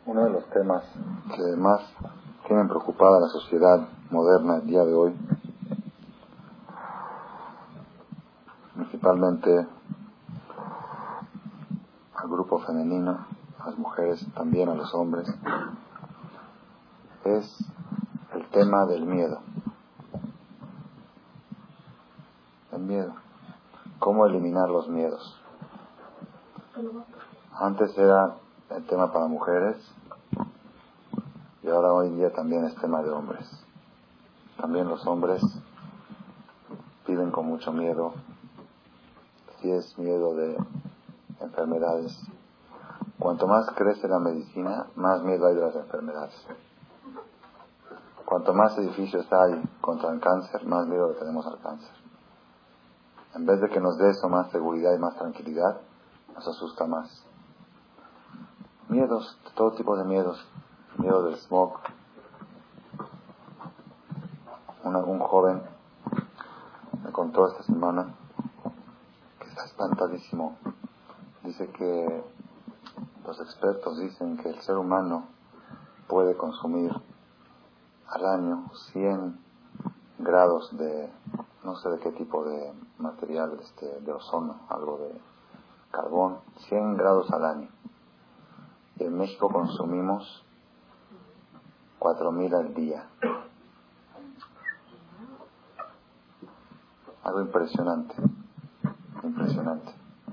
Uno de los temas que más tienen preocupada a la sociedad moderna el día de hoy, principalmente al grupo femenino, a las mujeres, también a los hombres, es el tema del miedo. El miedo. ¿Cómo eliminar los miedos? Antes era el tema para mujeres y ahora hoy en día también es tema de hombres. También los hombres viven con mucho miedo. Si es miedo de enfermedades. Cuanto más crece la medicina, más miedo hay de las enfermedades. Cuanto más edificios hay contra el cáncer, más miedo le tenemos al cáncer. En vez de que nos dé eso más seguridad y más tranquilidad, nos asusta más. Miedos, todo tipo de miedos. Miedo del smog. Un joven me contó esta semana que está espantadísimo. Dice que los expertos dicen que el ser humano puede consumir al año 100 grados de, no sé de qué tipo de material, de ozono, algo de carbón, 100 grados al año. Y en México consumimos 4,000 al día. Algo impresionante. Impresionante.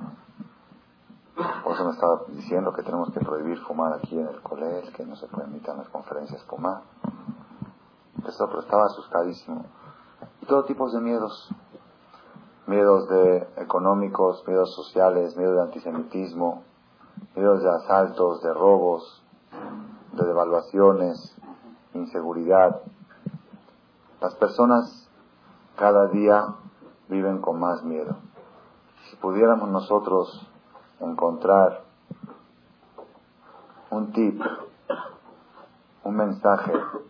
Por eso me estaba diciendo que tenemos que prohibir fumar aquí en el colegio, que no se permitan las conferencias fumar. Pero estaba asustadísimo. Y todo tipo de miedos. Miedos económicos, miedos sociales, miedos de antisemitismo, miedos de asaltos, de robos, de devaluaciones, inseguridad. Las personas cada día viven con más miedo. Si pudiéramos nosotros encontrar un tip, un mensaje,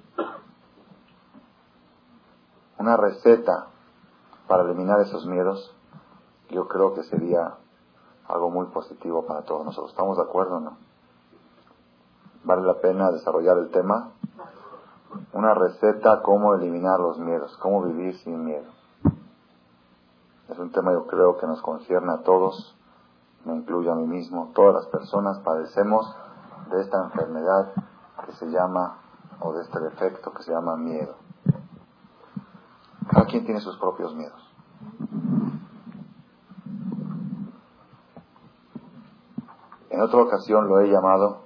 una receta para eliminar esos miedos, yo creo que sería algo muy positivo para todos nosotros. ¿Estamos de acuerdo o no? ¿Vale la pena desarrollar el tema? Una receta, cómo eliminar los miedos, cómo vivir sin miedo. Es un tema, yo creo, que nos concierne a todos, me incluyo a mí mismo. Todas las personas padecemos de esta enfermedad que se llama, o de este defecto que se llama miedo. Cada quien tiene sus propios miedos. En otra ocasión lo he llamado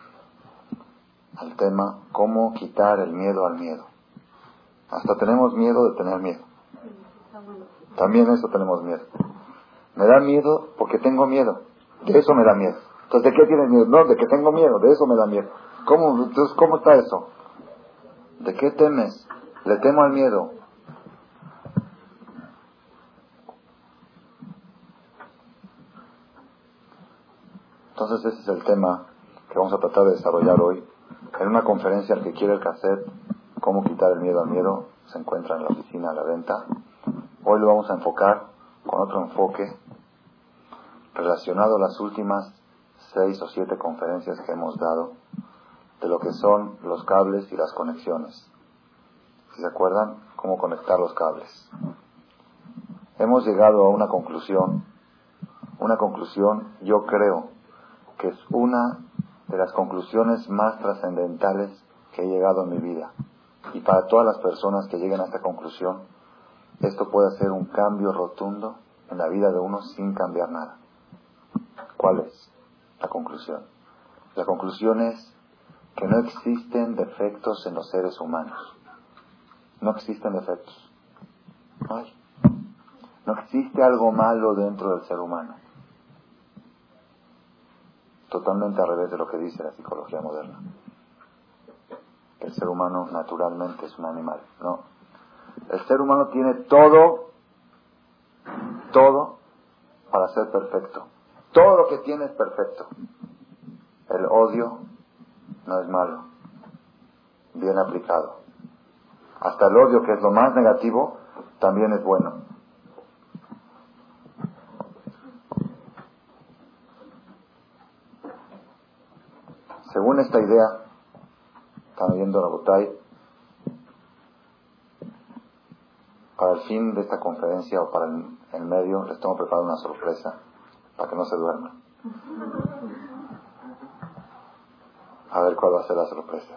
al tema cómo quitar el miedo al miedo. Hasta tenemos miedo de tener miedo. También eso tenemos miedo. Me da miedo porque tengo miedo. De eso me da miedo. Entonces, ¿de qué tienes miedo? No, de que tengo miedo. De eso me da miedo. Entonces, ¿cómo está eso? ¿De qué temes? Le temo al miedo. Entonces, ese es el tema que vamos a tratar de desarrollar hoy. En una conferencia, el que quiere el cassette, cómo quitar el miedo al miedo, se encuentra en la oficina a la venta. Hoy lo vamos a enfocar con otro enfoque relacionado a las últimas 6 o 7 conferencias que hemos dado de lo que son los cables y las conexiones. Si se acuerdan, cómo conectar los cables. Hemos llegado a una conclusión yo creo que es una de las conclusiones más trascendentales que he llegado en mi vida. Y para todas las personas que lleguen a esta conclusión, esto puede hacer un cambio rotundo en la vida de uno sin cambiar nada. ¿Cuál es la conclusión? La conclusión es que no existen defectos en los seres humanos. No existen defectos. No hay. No existe algo malo dentro del ser humano. Totalmente al revés de lo que dice la psicología moderna. El ser humano naturalmente es un animal. No. El ser humano tiene todo para ser perfecto. Todo lo que tiene es perfecto. El odio no es malo, bien aplicado. Hasta el odio, que es lo más negativo, también es bueno. Según esta idea, están oyendo Rabotay, para el fin de esta conferencia o para el medio, les tengo preparado una sorpresa para que no se duerman. A ver cuál va a ser la sorpresa.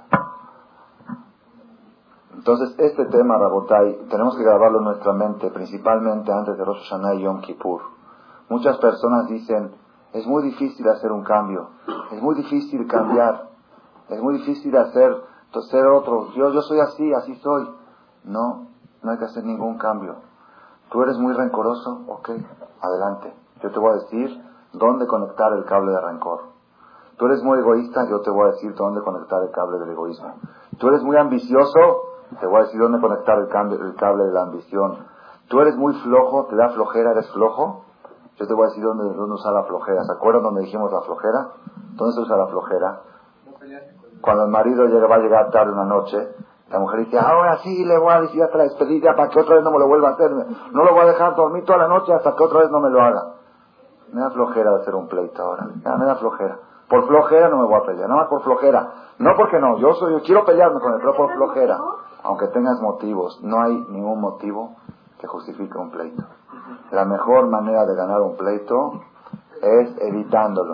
Entonces, este tema, Rabotay, tenemos que grabarlo en nuestra mente, principalmente antes de Rosh Hashanah y Yom Kippur. Muchas personas dicen, es muy difícil hacer un cambio, es muy difícil cambiar, es muy difícil ser otro. Yo soy así, así soy. No hay que hacer ningún cambio. ¿Tú eres muy rencoroso? Ok, adelante. Yo te voy a decir dónde conectar el cable de rencor. ¿Tú eres muy egoísta? Yo te voy a decir dónde conectar el cable del egoísmo. ¿Tú eres muy ambicioso? Te voy a decir dónde conectar el cable de la ambición. ¿Tú eres muy flojo? ¿Te da flojera? ¿Eres flojo? Yo te voy a decir dónde usar la flojera. ¿Se acuerdan dónde dijimos la flojera? ¿Dónde se usa la flojera? Cuando el marido va a llegar tarde una noche, la mujer dice, ahora sí le voy a decir hasta la despedida para que otra vez no me lo vuelva a hacer. No lo voy a dejar dormir toda la noche hasta que otra vez no me lo haga. Me da flojera de hacer un pleito ahora. Me da flojera. Por flojera no me voy a pelear, nada más por flojera. No porque no, yo quiero pelearme con él, pero por flojera. Aunque tengas motivos, no hay ningún motivo que justifique un pleito. La mejor manera de ganar un pleito es evitándolo.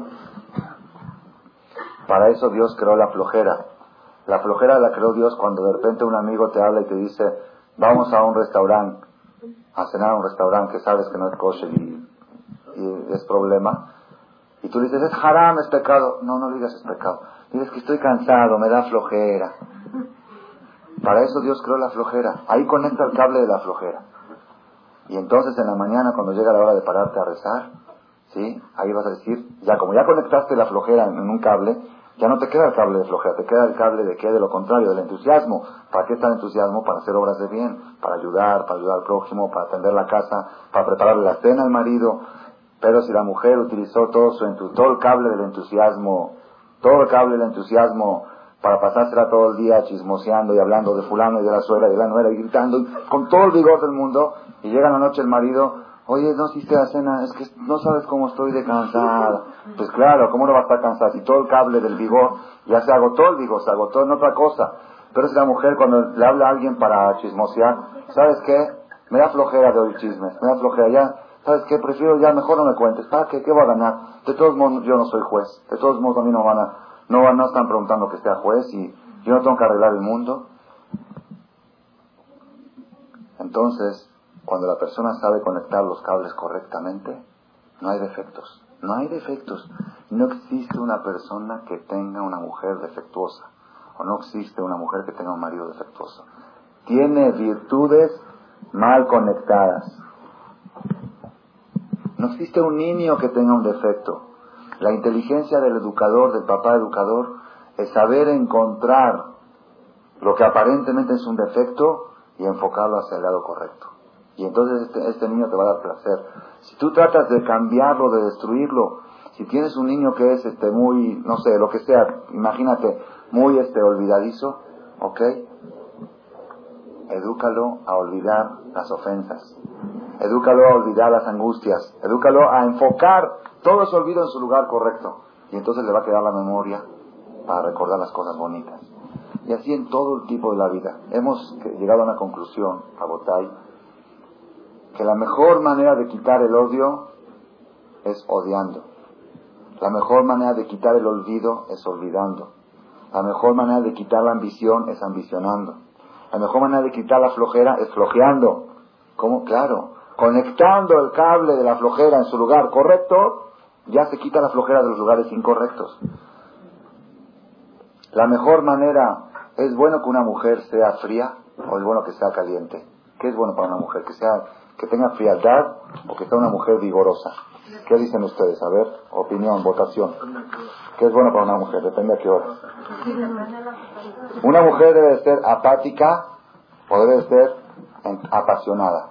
Para eso Dios creó la flojera. La flojera la creó Dios cuando de repente un amigo te habla y te dice, vamos a un restaurante, a cenar a un restaurante que sabes que no es kosher y es problema. Y tú dices, es haram, es pecado. No digas es pecado. Dices que estoy cansado, me da flojera. Para eso Dios creó la flojera. Ahí conecta el cable de la flojera. Y entonces en la mañana, cuando llega la hora de pararte a rezar, ¿sí? Ahí vas a decir, como ya conectaste la flojera en un cable, ya no te queda el cable de flojera, te queda el cable de qué, de lo contrario, del entusiasmo. ¿Para qué está el entusiasmo? Para hacer obras de bien, para ayudar al prójimo, para atender la casa, para prepararle la cena al marido. Pero si la mujer utilizó todo el cable del entusiasmo, para pasársela todo el día chismoseando y hablando de fulano y de la suegra y de la nuera y gritando con todo el vigor del mundo, y llega la noche el marido, oye, no hiciste la cena, es que no sabes cómo estoy de cansada. Pues claro, ¿cómo no va a estar cansada? Si todo el cable del vigor ya se agotó, el vigor se agotó en otra cosa. Pero si la mujer cuando le habla a alguien para chismosear, ¿sabes qué? Me da flojera de oír chismes, me da flojera ya. ¿Sabes qué? Prefiero ya, mejor no me cuentes. ¿Para qué? ¿Qué voy a ganar? De todos modos, yo no soy juez. De todos modos, a mí no están preguntando que sea juez y yo no tengo que arreglar el mundo. Entonces, cuando la persona sabe conectar los cables correctamente, no hay defectos. No hay defectos. No existe una persona que tenga una mujer defectuosa. O no existe una mujer que tenga un marido defectuoso. Tiene virtudes mal conectadas. No existe un niño que tenga un defecto. La inteligencia del educador, del papá educador, es saber encontrar lo que aparentemente es un defecto y enfocarlo hacia el lado correcto. Y entonces este niño te va a dar placer. Si tú tratas de cambiarlo, de destruirlo, si tienes un niño que es muy, no sé, lo que sea, imagínate, muy olvidadizo, ¿ok? Edúcalo a olvidar las ofensas. Edúcalo a olvidar las angustias. Edúcalo a enfocar todo ese olvido en su lugar correcto. Y entonces le va a quedar la memoria para recordar las cosas bonitas. Y así en todo el tipo de la vida. Hemos llegado a una conclusión, Rabotay, que la mejor manera de quitar el odio es odiando. La mejor manera de quitar el olvido es olvidando. La mejor manera de quitar la ambición es ambicionando. La mejor manera de quitar la flojera es flojeando. ¿Cómo? Claro. Conectando el cable de la flojera en su lugar correcto, ya se quita la flojera de los lugares incorrectos. La mejor manera, ¿es bueno que una mujer sea fría o es bueno que sea caliente? ¿Qué es bueno para una mujer? ¿Que tenga frialdad o que sea una mujer vigorosa? ¿Qué dicen ustedes? A ver, opinión, votación. ¿Qué es bueno para una mujer? Depende a qué hora. Una mujer debe de ser apática o debe de ser apasionada.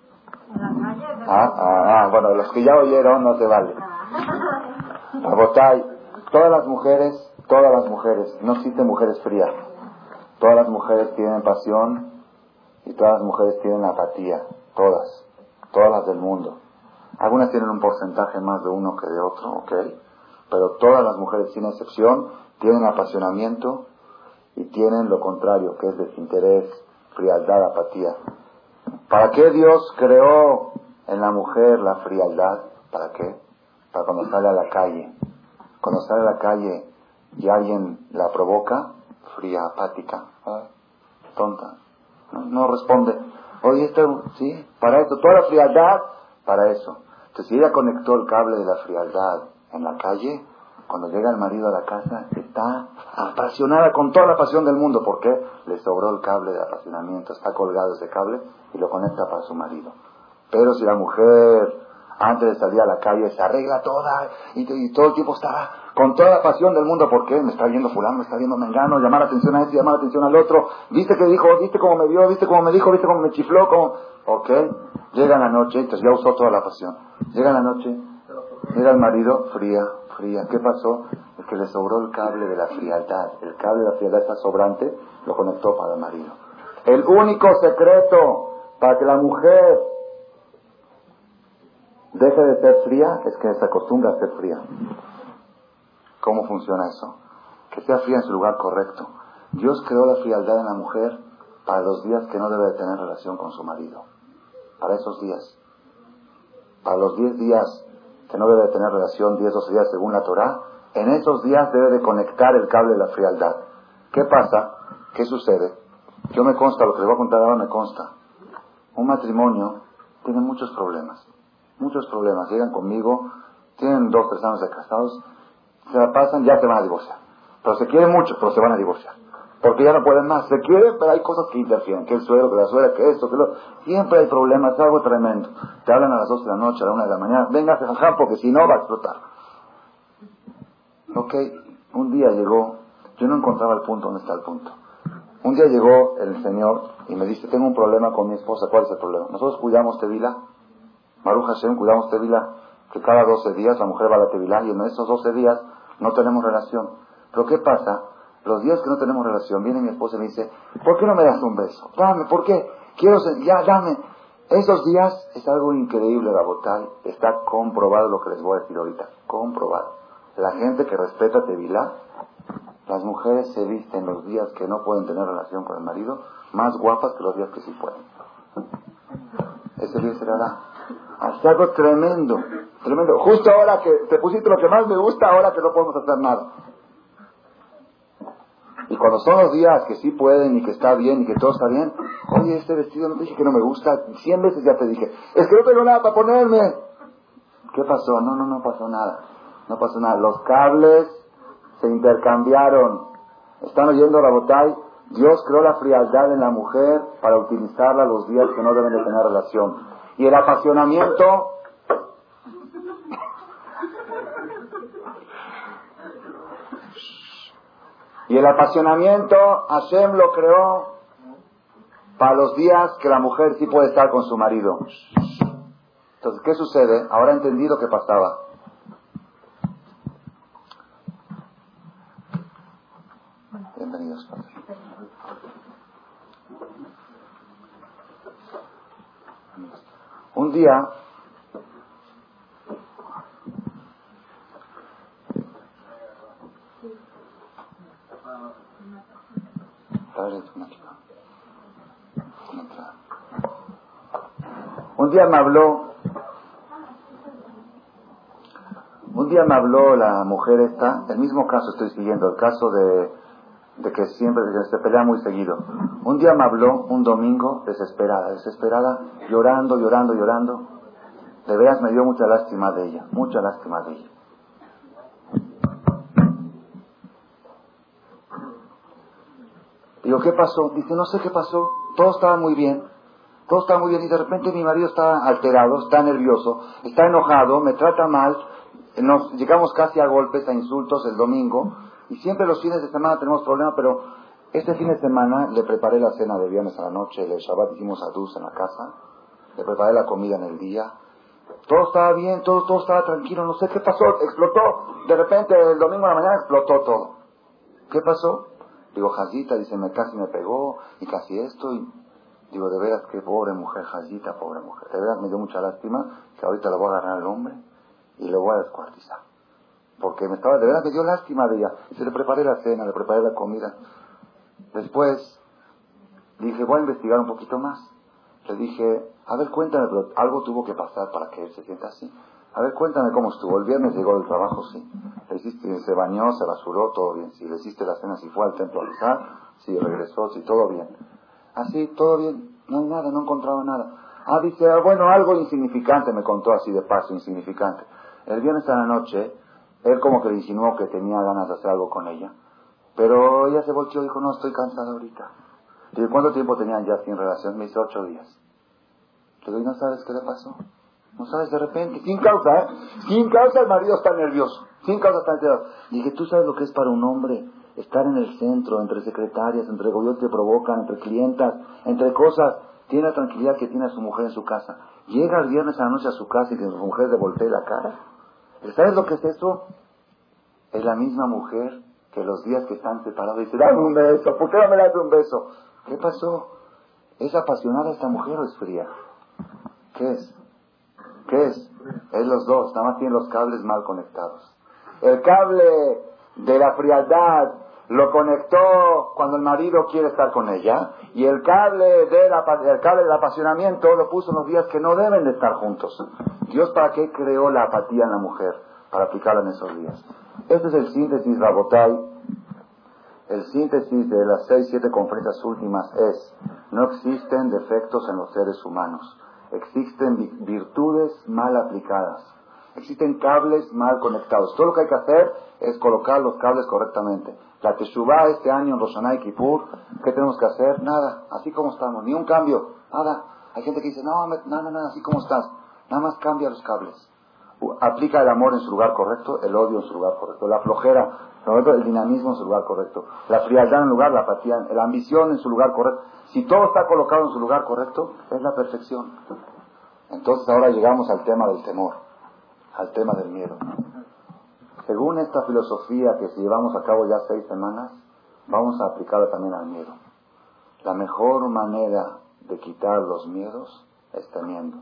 Bueno, los que ya oyeron no se vale. Rabotay, todas las mujeres, no existen mujeres frías. Todas las mujeres tienen pasión y todas las mujeres tienen apatía. Todas las del mundo. Algunas tienen un porcentaje más de uno que de otro, ¿ok? Pero todas las mujeres, sin excepción, tienen apasionamiento y tienen lo contrario, que es desinterés, frialdad, apatía. ¿Para qué Dios creó en la mujer la frialdad? ¿Para qué? Para cuando sale a la calle. Cuando sale a la calle y alguien la provoca, fría, apática, tonta, no responde. Oye, esto, sí, para esto, toda la frialdad, para eso. Entonces, si ella conectó el cable de la frialdad en la calle, cuando llega el marido a la casa, está apasionada con toda la pasión del mundo. ¿Por qué? Le sobró el cable de apasionamiento, está colgado ese cable y lo conecta para su marido. Pero si la mujer, antes de salir a la calle, se arregla toda y todo el tiempo está con toda la pasión del mundo, ¿por qué? Me está viendo fulano, me está viendo mengano, llamar la atención a este, llamar la atención al otro, viste que dijo, viste cómo me vio, viste cómo me dijo, viste cómo me chifló, cómo... Ok, llega la noche, entonces ya usó toda la pasión. Llega la noche, llega el marido, fría. ¿Qué pasó? Es que le sobró el cable de la frialdad. El cable de la frialdad está sobrante, lo conectó para el marido. El único secreto para que la mujer deje de ser fría es que se acostumbra a ser fría. ¿Cómo funciona eso? Que sea fría en su lugar correcto. Dios creó la frialdad en la mujer para los días que no debe de tener relación con su marido. Para esos días. Para los 10 días que no debe de tener relación, 10, 12 días según la Torá, en esos días debe de conectar el cable de la frialdad. ¿Qué pasa? ¿Qué sucede? Yo me consta, lo que les voy a contar ahora me consta. Un matrimonio tiene muchos problemas. Muchos problemas. Llegan conmigo, tienen 2, 3 años de casados, se la pasan, ya se van a divorciar. Pero se quieren mucho, pero se van a divorciar. Porque ya no pueden más. Se quieren, pero hay cosas que interfieren. Que el suegro, que la suegra, que esto, que lo... Siempre hay problemas, es algo tremendo. Te hablan a las 12 de la noche, a la 1 de la mañana. Venga, jajá, porque si no va a explotar. Ok, un día llegó, yo no encontraba el punto, ¿dónde está el punto? Un día llegó el señor y me dice, tengo un problema con mi esposa. ¿Cuál es el problema? Nosotros cuidamos Tevilá. Baruch Hashem, cuidamos Tevilá. Que cada 12 días la mujer va a la Tevilá y en esos 12 días no tenemos relación. Pero ¿qué pasa? Los días que no tenemos relación, viene mi esposa y me dice, ¿por qué no me das un beso? Dame, ¿por qué? Ya, dame. Esos días es algo increíble, Rabotay. Está comprobado lo que les voy a decir ahorita. Comprobado. La gente que respeta Tevilá, las mujeres se visten los días que no pueden tener relación con el marido, más guapas que los días que sí pueden. Ese día será. Es algo tremendo, tremendo. Justo ahora que te pusiste lo que más me gusta, ahora que no podemos hacer nada. Y cuando son los días que sí pueden y que está bien y que todo está bien, oye, este vestido no te dije que no me gusta, 100 veces ya te dije, es que no tengo nada para ponerme. ¿Qué pasó? No pasó nada. No pasó nada. Los cables se intercambiaron. ¿Están oyendo, Rabotay? Dios creó la frialdad en la mujer para utilizarla los días que no deben de tener relación. Y el apasionamiento... Y el apasionamiento, Hashem lo creó para los días que la mujer sí puede estar con su marido. Entonces, ¿qué sucede? Ahora entendí lo que pasaba. Bienvenidos, padre. Un día, un día me habló la mujer esta, el mismo caso estoy siguiendo, el caso de que siempre de que se pelea muy seguido. Un día me habló, un domingo, desesperada, llorando. De veras me dio mucha lástima de ella. Digo, ¿qué pasó? Dice, no sé qué pasó, todo estaba muy bien y de repente mi marido está alterado, está nervioso, está enojado, me trata mal, nos llegamos casi a golpes, a insultos el domingo, y siempre los fines de semana tenemos problemas, pero este fin de semana le preparé la cena de viernes a la noche, el Shabbat hicimos adus en la casa, le preparé la comida en el día, todo estaba bien, todo estaba tranquilo, no sé qué pasó, explotó, de repente el domingo a la mañana explotó todo. ¿Qué pasó? Digo, Jazita, dice, casi me pegó, y casi esto, y digo, de veras, qué pobre mujer, Jazita, pobre mujer. De veras me dio mucha lástima que ahorita le voy a agarrar al hombre y le voy a descuartizar. porque de verdad me dio lástima de ella. Y se le preparé la cena, le preparé la comida. Después dije, voy a investigar un poquito más. Le dije, a ver, cuéntame, pero algo tuvo que pasar para que él se sienta así. A ver, cuéntame cómo estuvo. El viernes llegó del trabajo, sí. Le hiciste, se bañó, se rasuró, todo bien. Sí, le hiciste la cena, si fue al templo a rezar, sí, regresó, sí, todo bien. Así, todo bien. No hay nada, no encontraba nada. Dice, bueno, algo insignificante, me contó así de paso, insignificante. El viernes a la noche, él como que le insinuó que tenía ganas de hacer algo con ella. Pero ella se volteó y dijo, no, estoy cansada ahorita. Le dije, ¿cuánto tiempo tenían ya sin relación? Me dice, 8 días. Le digo, ¿y no sabes qué le pasó? No sabes, de repente, sin causa, sin causa el marido está nervioso, sin causa está nervioso. Dije, ¿tú sabes lo que es para un hombre estar en el centro, entre secretarias, entre gobiernos que provocan, entre clientas, entre cosas? Tiene la tranquilidad que tiene a su mujer en su casa. Llega el viernes a la noche a su casa y que su mujer le voltee la cara. ¿Sabes lo que es eso? Es la misma mujer que los días que están separados dice, dame un beso, ¿por qué no me das un beso? ¿Qué pasó? ¿Es apasionada esta mujer o es fría? ¿Qué es? ¿Qué es? Es los dos, nada más tienen los cables mal conectados. El cable de la frialdad lo conectó cuando el marido quiere estar con ella, y el cable del apasionamiento lo puso en los días que no deben de estar juntos. Dios, ¿para qué creó la apatía en la mujer? Para aplicarla en esos días. Este es el síntesis, Rabotai. El síntesis de las 6-7 conferencias últimas es: no existen defectos en los seres humanos. Existen virtudes mal aplicadas. Existen cables mal conectados. Todo lo que hay que hacer es colocar los cables correctamente. La Teshuvá este año en Rosh Hashanah y Kippur, ¿qué tenemos que hacer? Nada, así como estamos, ni un cambio, nada. Hay gente que dice, no, así como estás. Nada más cambia los cables. Aplica el amor en su lugar correcto, el odio en su lugar correcto, la flojera, el dinamismo en su lugar correcto, la frialdad en lugar, la apatía, la ambición en su lugar correcto. Si todo está colocado en su lugar correcto, es la perfección. Entonces ahora llegamos al tema del temor, al tema del miedo. Según esta filosofía que si llevamos a cabo ya 6 semanas, vamos a aplicarla también al miedo. La mejor manera de quitar los miedos es temiendo.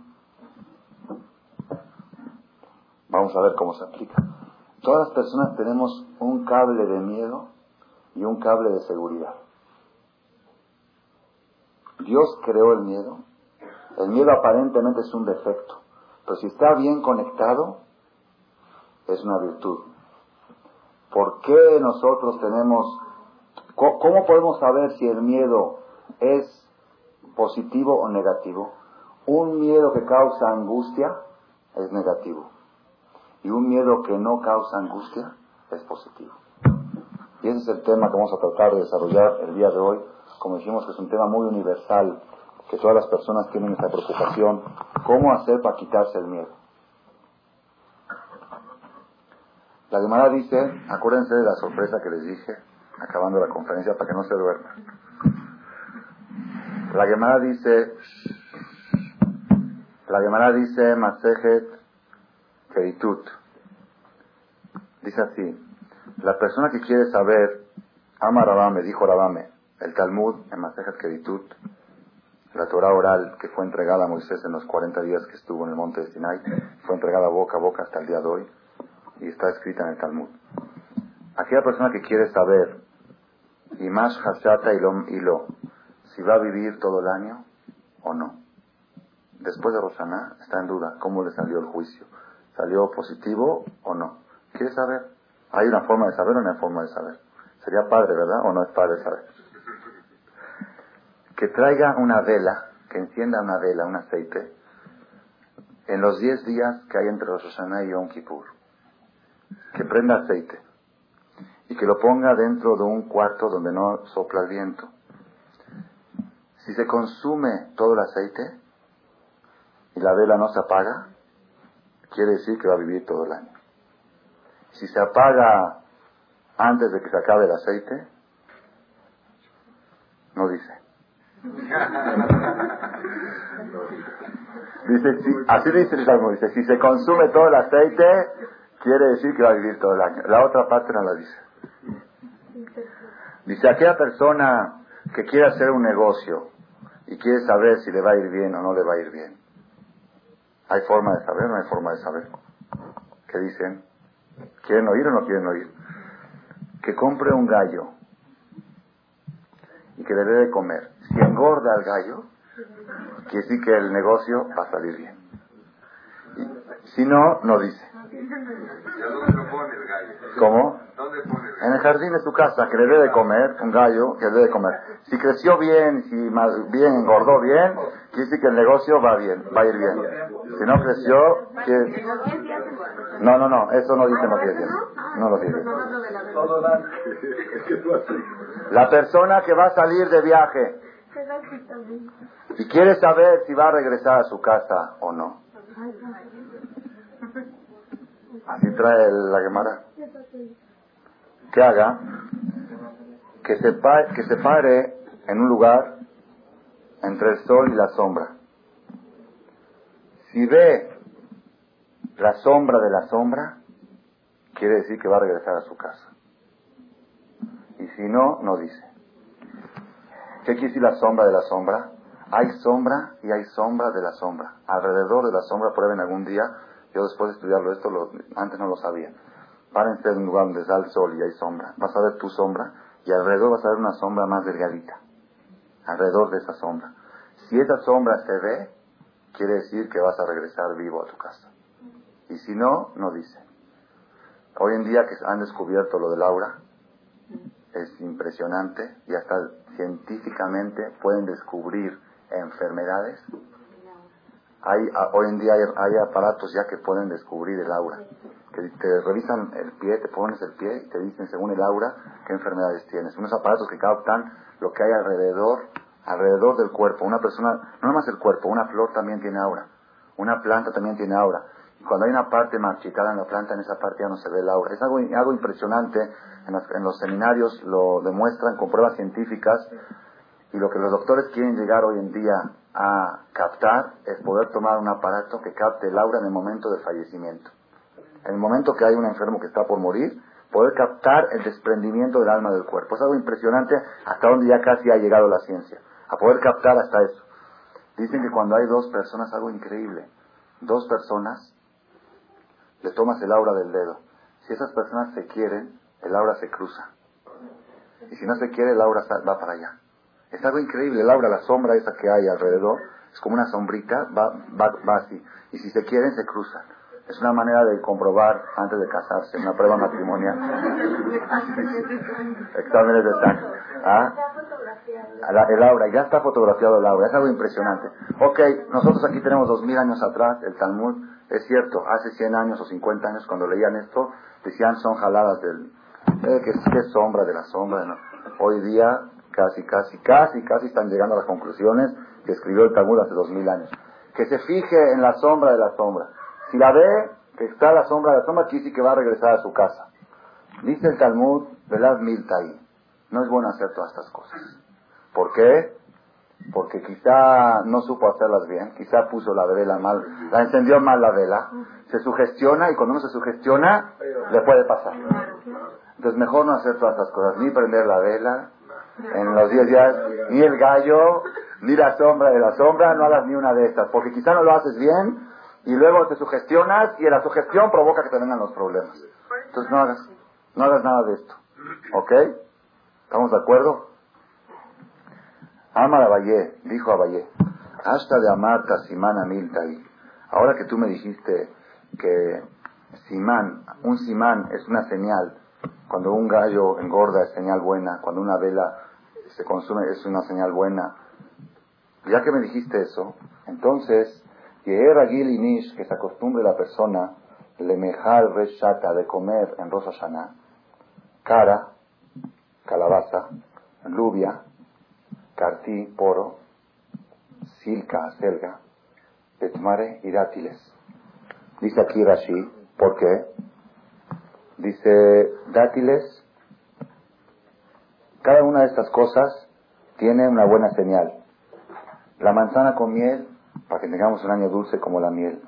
Vamos a ver cómo se aplica. Todas las personas tenemos un cable de miedo y un cable de seguridad. Dios creó el miedo. El miedo aparentemente es un defecto, pero si está bien conectado, es una virtud. ¿Por qué nosotros tenemos... ¿Cómo podemos saber si el miedo es positivo o negativo? Un miedo que causa angustia es negativo. Y un miedo que no causa angustia es positivo. Y ese es el tema que vamos a tratar de desarrollar el día de hoy. Como dijimos, que es un tema muy universal, que todas las personas tienen esta preocupación. ¿Cómo hacer para quitarse el miedo? La Gemara dice, acuérdense de la sorpresa que les dije, acabando la conferencia, para que no se duerman. La Gemara dice, Masejet Keritut. Dice así, la persona que quiere saber, ama Rabame, dijo Rabame, el Talmud en Masejet Keritut, la Torah oral que fue entregada a Moisés en los 40 días que estuvo en el monte de Sinai, fue entregada boca a boca hasta el día de hoy, y está escrita en el Talmud. Aquella persona que quiere saber, Imash Hashata Ilo, si va a vivir todo el año o no. Después de Rosh Hashanah está en duda cómo le salió el juicio. ¿Salió positivo o no? ¿Quiere saber? ¿Hay una forma de saber o no hay forma de saber? Sería padre, ¿verdad? ¿O no es padre saber? Que traiga una vela, que encienda una vela, un aceite, en los 10 días que hay entre Rosh Hashanah y Yom Kippur. Que prenda aceite y que lo ponga dentro de un cuarto donde no sopla el viento. Si se consume todo el aceite y la vela no se apaga, quiere decir que va a vivir todo el año. Si se apaga antes de que se acabe el aceite, no dice. Dice, así dice el Talmud, dice, si se consume todo el aceite, quiere decir que va a vivir todo el año. La otra parte no la dice. Dice, aquella persona que quiere hacer un negocio y quiere saber si le va a ir bien o no le va a ir bien. ¿Hay forma de saber o no hay forma de saber? ¿Qué dicen? ¿Quieren oír o no quieren oír? Que compre un gallo y que le dé de comer. Si engorda al gallo, quiere decir que el negocio va a salir bien. Y si no, no dice. ¿Y a dónde lo pone el gallo? ¿Cómo? ¿Dónde pone el gallo? En el jardín de su casa, que le dé de comer, un gallo que le dé de comer. Si creció bien, si más bien engordó bien, quiere decir que el negocio va bien, va a ir bien. Si no creció, que... No, eso no dicen los 10 días. No los 10 días. La persona que va a salir de viaje y quiere saber si va a regresar a su casa o no. Así trae la Gemara. Que haga, que se pare en un lugar entre el sol y la sombra. Si ve la sombra de la sombra, quiere decir que va a regresar a su casa. Y si no, no dice. ¿Qué quiere decir la sombra de la sombra? Hay sombra y hay sombra de la sombra. Alrededor de la sombra, prueben algún día. Yo después de estudiarlo esto, antes no lo sabía. Párense en un lugar donde da el sol y hay sombra. Vas a ver tu sombra y alrededor vas a ver una sombra más delgadita. Alrededor de esa sombra. Si esa sombra se ve, quiere decir que vas a regresar vivo a tu casa. Y si no, no dice. Hoy en día que han descubierto lo del aura, es impresionante y hasta científicamente pueden descubrir enfermedades. Hoy en día hay aparatos ya que pueden descubrir el aura, que te revisan el pie, te pones el pie y te dicen según el aura qué enfermedades tienes. Unos aparatos que captan lo que hay alrededor del cuerpo. Una persona, no nomás el cuerpo, una flor también tiene aura, una planta también tiene aura. Y cuando hay una parte marchitada en la planta, en esa parte ya no se ve el aura. Es algo impresionante. En los seminarios lo demuestran con pruebas científicas. Y lo que los doctores quieren llegar hoy en día a captar es poder tomar un aparato que capte el aura en el momento del fallecimiento. En el momento que hay un enfermo que está por morir, poder captar el desprendimiento del alma del cuerpo. Es algo impresionante hasta donde ya casi ha llegado la ciencia. A poder captar hasta eso. Dicen que cuando hay dos personas, algo increíble. Dos personas, le tomas el aura del dedo. Si esas personas se quieren, el aura se cruza. Y si no se quiere, el aura va para allá. Es algo increíble, el aura, la sombra esa que hay alrededor, es como una sombrita, va así. Y si se quieren, se cruzan. Es una manera de comprobar antes de casarse, una prueba matrimonial. Exámenes de sangre. El aura, ya está fotografiado el aura, es algo impresionante. Ok, nosotros aquí tenemos 2000 años atrás, el Talmud, es cierto, hace 100 años o 50 años cuando leían esto, decían son jaladas del... ¿Qué sombra de la sombra? No. Hoy día casi están llegando a las conclusiones que escribió el Talmud hace 2000 años. Que se fije en la sombra de la sombra. Si la ve, que está la sombra de la sombra, quiere decir que va a regresar a su casa. Dice el Talmud, velad miltai. No es bueno hacer todas estas cosas. ¿Por qué? Porque quizá no supo hacerlas bien, quizá puso la vela mal, la encendió mal la vela, se sugestiona y cuando uno se sugestiona, le puede pasar. Entonces mejor no hacer todas estas cosas, ni prender la vela en los 10 días, ni el gallo, ni la sombra de la sombra, no hagas ni una de estas, porque quizá no lo haces bien y luego te sugestionas y la sugestión provoca que te vengan los problemas. Entonces no hagas nada de esto. ¿Ok? ¿Estamos de acuerdo? Amar Abayé, dijo Abayé, hasta de Amarta Simán Amiltai. Ahora que tú me dijiste que un simán es una señal, cuando un gallo engorda es señal buena, cuando una vela se consume es una señal buena. Ya que me dijiste eso, entonces, Yeher Inish, que se acostumbre la persona, Lemejal Reshata, de comer en Rosh Hashanah, cara, calabaza, lluvia, cartí, poro, silca, selga, petmare y dátiles. Dice aquí Rashi, ¿por qué? Dice, dátiles, cada una de estas cosas tiene una buena señal. La manzana con miel, para que tengamos un año dulce como la miel.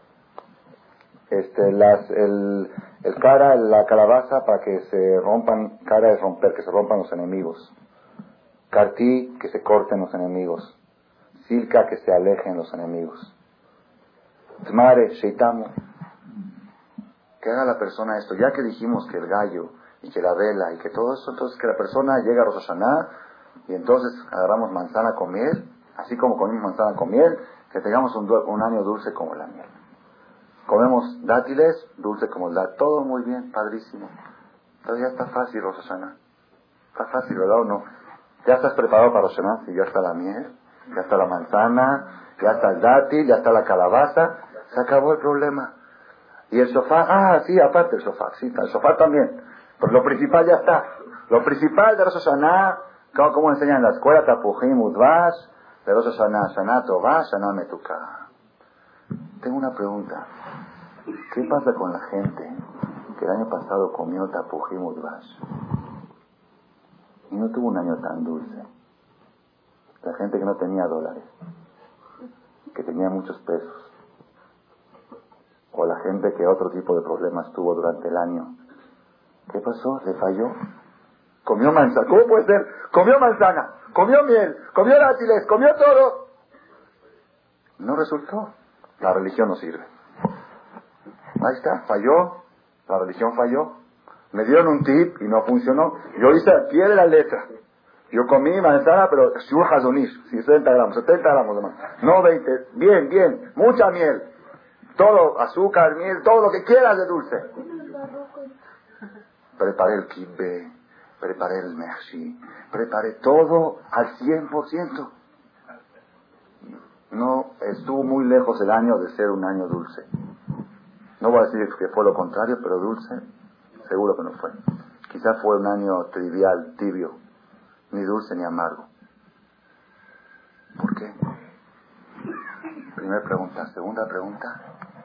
La calabaza para que se rompan, cara es romper, que se rompan los enemigos. Cartí, que se corten los enemigos. Silca, que se alejen los enemigos. Tmare, sheitamo, que haga la persona esto. Ya que dijimos que el gallo y que la vela y que todo eso, entonces que la persona llegue a Rosh Hashanah y entonces agarramos manzana con miel, así como comimos manzana con miel, que tengamos un año dulce como la miel. Comemos dátiles, dulce como el dátil, todo muy bien, padrísimo. Entonces ya está fácil Rosh Hashanah. Está fácil, ¿verdad o no? Ya estás preparado para Rosh Hashanah, si ya está la miel, ya está la manzana, ya está el dátil, ya está la calabaza, se acabó el problema. Y el sofá, sí, aparte el sofá, sí, el sofá también. Pero lo principal ya está. Lo principal de Rosh Hashanah, como enseñan en la escuela, Tapujim Udvash, de Rosh Hashanah, Shana Tová, Shana Metuká. Tengo una pregunta. ¿Qué pasa con la gente que el año pasado comió Tapujim Udvash y no tuvo un año tan dulce? La gente que no tenía dólares, que tenía muchos pesos, o la gente que otro tipo de problemas tuvo durante el año. ¿Qué pasó? ¿Le falló? Comió manzana. ¿Cómo puede ser? Comió manzana, comió miel, comió dátiles, comió todo. No resultó. La religión no sirve. Ahí está, falló. La religión falló. Me dieron un tip y no funcionó. Yo hice al pie de la letra. Yo comí manzana, pero Shur Hazonish, 60 gramos, 70 gramos de manzana. No 20. Bien, bien. Mucha miel. Todo, azúcar, miel, todo lo que quieras de dulce. Preparé el kibbe, preparé el mershi, preparé todo al 100%. No estuvo muy lejos el año de ser un año dulce. No voy a decir que fue lo contrario, pero dulce, seguro que no fue. Quizás fue un año trivial, tibio, ni dulce ni amargo. ¿Por qué? Primera pregunta. Segunda pregunta.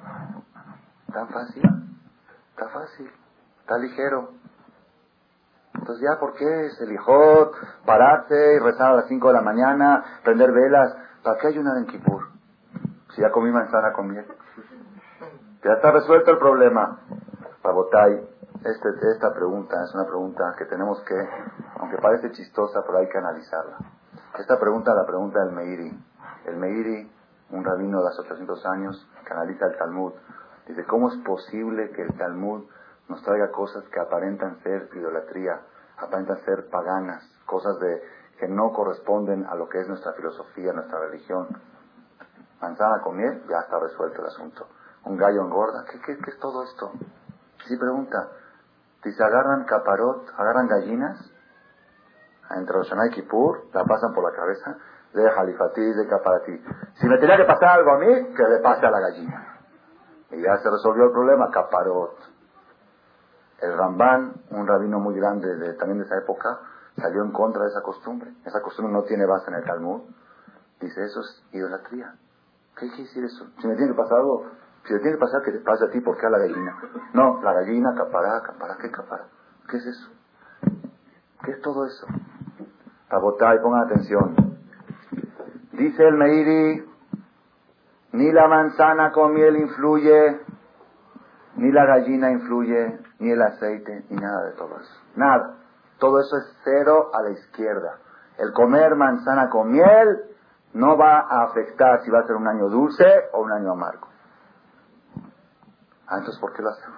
¿Tan fácil? Está fácil. Está ligero. Entonces ya, ¿por qué es el hijot? Pararse y rezar a las 5 de la mañana, prender velas. ¿Para qué ayunar en Kippur? Si ya comí manzana con miel. Ya está resuelto el problema. Rabotay, esta pregunta es una pregunta que tenemos que, aunque parece chistosa, pero hay que analizarla. Esta pregunta la pregunta del Meiri. El Meiri, un rabino de hace 800 años, que analiza el Talmud, dice, ¿cómo es posible que el Talmud nos traiga cosas que aparentan ser idolatría, aparentan ser paganas, cosas que no corresponden a lo que es nuestra filosofía, nuestra religión? Manzana con miel, ya está resuelto el asunto. Un gallo engorda, ¿qué es todo esto? Sí pregunta, dice, agarran caparot, agarran gallinas, entre Rosh Hashanah y Kippur, la pasan por la cabeza, de Jalifati, de Caparatí. Si me tenía que pasar algo a mí, que le pase a la gallina. Y ya se resolvió el problema, caparot. El Ramban, un rabino muy grande también de esa época, salió en contra de esa costumbre. Esa costumbre no tiene base en el Talmud. Dice, eso es idolatría. ¿Qué quiere decir eso? Si me tiene que pasar algo, si le tiene que pasar, que te pase a ti, ¿por qué a la gallina? No, la gallina, capará, ¿qué capará? ¿Qué es eso? ¿Qué es todo eso? Tabotay, pongan atención. Dice el Meiri, ni la manzana con miel influye, ni la gallina influye, ni el aceite, ni nada de todo eso. Nada. Todo eso es cero a la izquierda. El comer manzana con miel no va a afectar si va a ser un año dulce o un año amargo. Entonces, ¿por qué lo hacemos?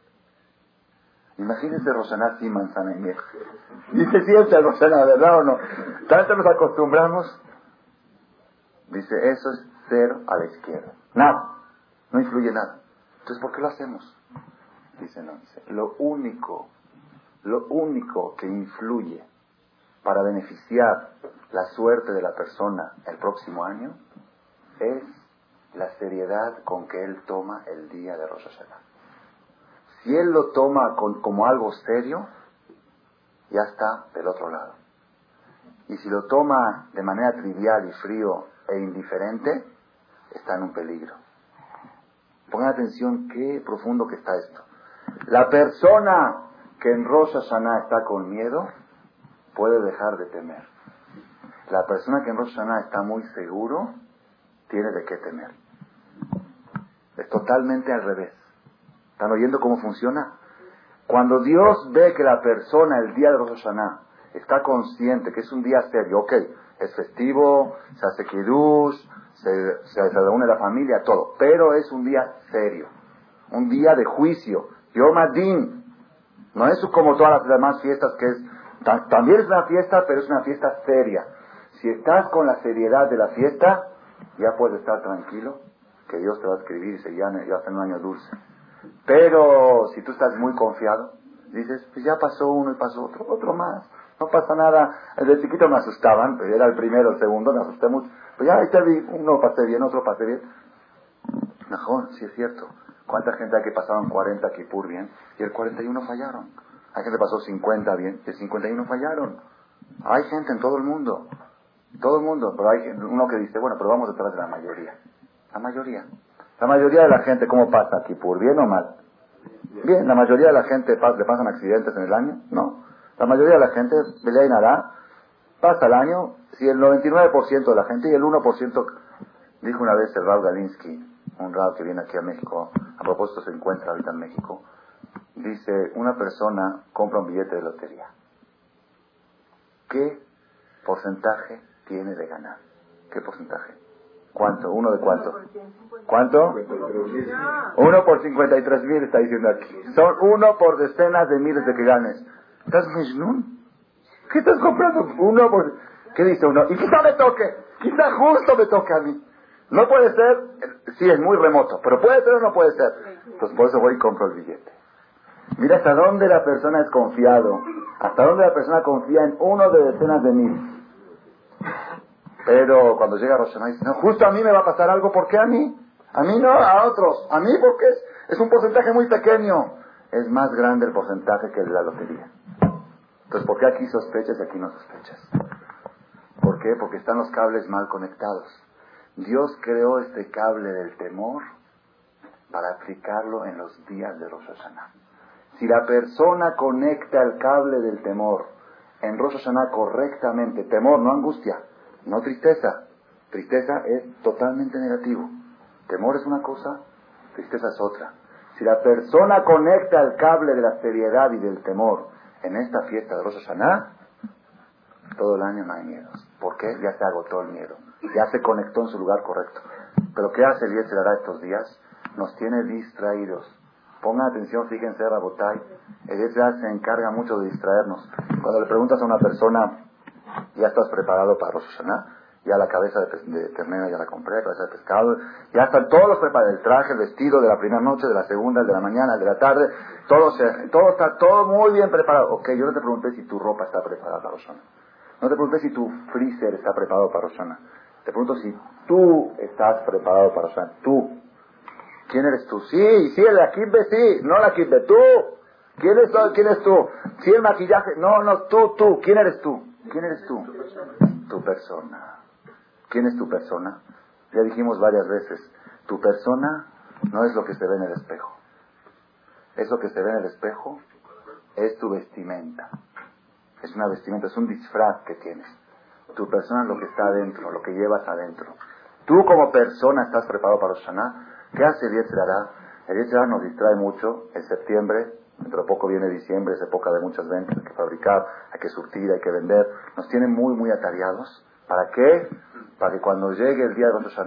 Imagínense Rosh Hashanah sin manzana y miel. Y se siente el Rosh Hashanah, ¿verdad o no? Tanto nos acostumbramos. Dice, eso es cero a la izquierda. Nada. No influye nada. Entonces, ¿por qué lo hacemos? Dice, no. Dice, lo único que influye para beneficiar la suerte de la persona el próximo año es la seriedad con que él toma el día de Rosh Hashanah. Si él lo toma como algo serio, ya está del otro lado. Y si lo toma de manera trivial y frío e indiferente, está en un peligro. Pongan atención qué profundo que está esto. La persona que en Rosh Hashanah está con miedo, puede dejar de temer. La persona que en Rosh Hashanah está muy seguro, tiene de qué temer. Es totalmente al revés. ¿Están oyendo cómo funciona? Cuando Dios ve que la persona el día de Rosh Hashanah está consciente que es un día serio, ok, es festivo, se hace kiddush, se reúne la familia, todo, pero es un día serio, un día de juicio, Yom Adin. No es como todas las demás fiestas que es... También es una fiesta, pero es una fiesta seria. Si estás con la seriedad de la fiesta, ya puedes estar tranquilo, que Dios te va a escribir y se ya hace un año dulce. Pero si tú estás muy confiado, dices, pues ya pasó uno y pasó otro más. No pasa nada. Desde chiquito me asustaban, pero era el primero, el segundo, me asusté mucho. Pues ya ahí te vi, uno pasé bien, otro pasé bien. Mejor, sí es cierto. ¿Cuánta gente hay que pasaron 40 Kipur bien y el 41 fallaron? Hay gente que pasó 50 bien y el 51 fallaron. Hay gente en todo el mundo. Todo el mundo. Pero hay uno que dice, bueno, pero vamos detrás de la mayoría. La mayoría. La mayoría de la gente, ¿cómo pasa Kipur? ¿Bien o mal? Bien. ¿La mayoría de la gente le pasan accidentes en el año? No. La mayoría de la gente, Belea y Nará, pasa el año. Si el 99% de la gente y el 1%, dijo una vez el Rav Galinsky, un Rav que viene aquí a México, a propósito se encuentra ahorita en México, dice, una persona compra un billete de lotería. ¿Qué porcentaje tiene de ganar? ¿Qué porcentaje? ¿Cuánto? ¿Uno de cuánto? ¿Cuánto? 1 por 53,000 está diciendo aquí. Son 1 por decenas de miles de que ganes. ¿Estás Mishnun? ¿Qué estás comprando? ¿Qué dice uno? Y quizá me toque. Quizá justo me toque a mí. No puede ser. Sí, es muy remoto. Pero puede ser o no puede ser. Entonces por eso voy y compro el billete. Mira hasta dónde la persona es confiado. Hasta dónde la persona confía en uno de decenas de miles. Pero cuando llega Rosh Hashanah dice, no, justo a mí me va a pasar algo, ¿por qué a mí? A mí no, a otros. A mí porque es un porcentaje muy pequeño. Es más grande el porcentaje que el de la lotería. Entonces, ¿por qué aquí sospechas y aquí no sospechas? ¿Por qué? Porque están los cables mal conectados. Dios creó este cable del temor para aplicarlo en los días de Rosh Hashanah. Si la persona conecta el cable del temor en Rosh Hashanah correctamente, temor, no angustia, no tristeza. Tristeza es totalmente negativo. Temor es una cosa, tristeza es otra. Si la persona conecta el cable de la seriedad y del temor en esta fiesta de Rosh Hashanah, todo el año no hay miedos. ¿Por qué? Ya se agotó el miedo. Ya se conectó en su lugar correcto. Pero ¿qué hace el Yetzer Hará estos días? Nos tiene distraídos. Pongan atención, fíjense, Rabotay. El Yetzer Hará se encarga mucho de distraernos. Cuando le preguntas a una persona, ¿ya estás preparado para Rosh Hashanah? Ya la cabeza de ternera ya la compré, la cabeza de pescado, ya están todos los preparados, el traje, el vestido de la primera noche, de la segunda, el de la mañana, el de la tarde, todo está todo muy bien preparado. Ok, yo no te pregunté si tu ropa está preparada para Rosh Hashanah. No te pregunté si tu freezer está preparado para Rosh Hashanah. Te pregunto si tú estás preparado para Rosh Hashanah. Tú. ¿Quién eres tú? Sí, el Akibbe, sí, no la Akibbe, tú. ¿Quién es tú? Sí, el maquillaje, no, tú. ¿Quién eres tú? ¿Quién eres tú? Tu persona. ¿Quién es tu persona? Ya dijimos varias veces, tu persona no es lo que se ve en el espejo. Eso que se ve en el espejo es tu vestimenta. Es una vestimenta, es un disfraz que tienes. Tu persona es lo que está adentro, lo que llevas adentro. Tú como persona estás preparado para Rosh Hashanah. ¿Qué hace el Yetzer Hará? El Yetzer Hará nos distrae mucho. En septiembre, dentro de poco viene diciembre, es época de muchas ventas, hay que fabricar, hay que surtir, hay que vender. Nos tiene muy, muy atareados. ¿Para qué? Para que cuando llegue el día de Rosh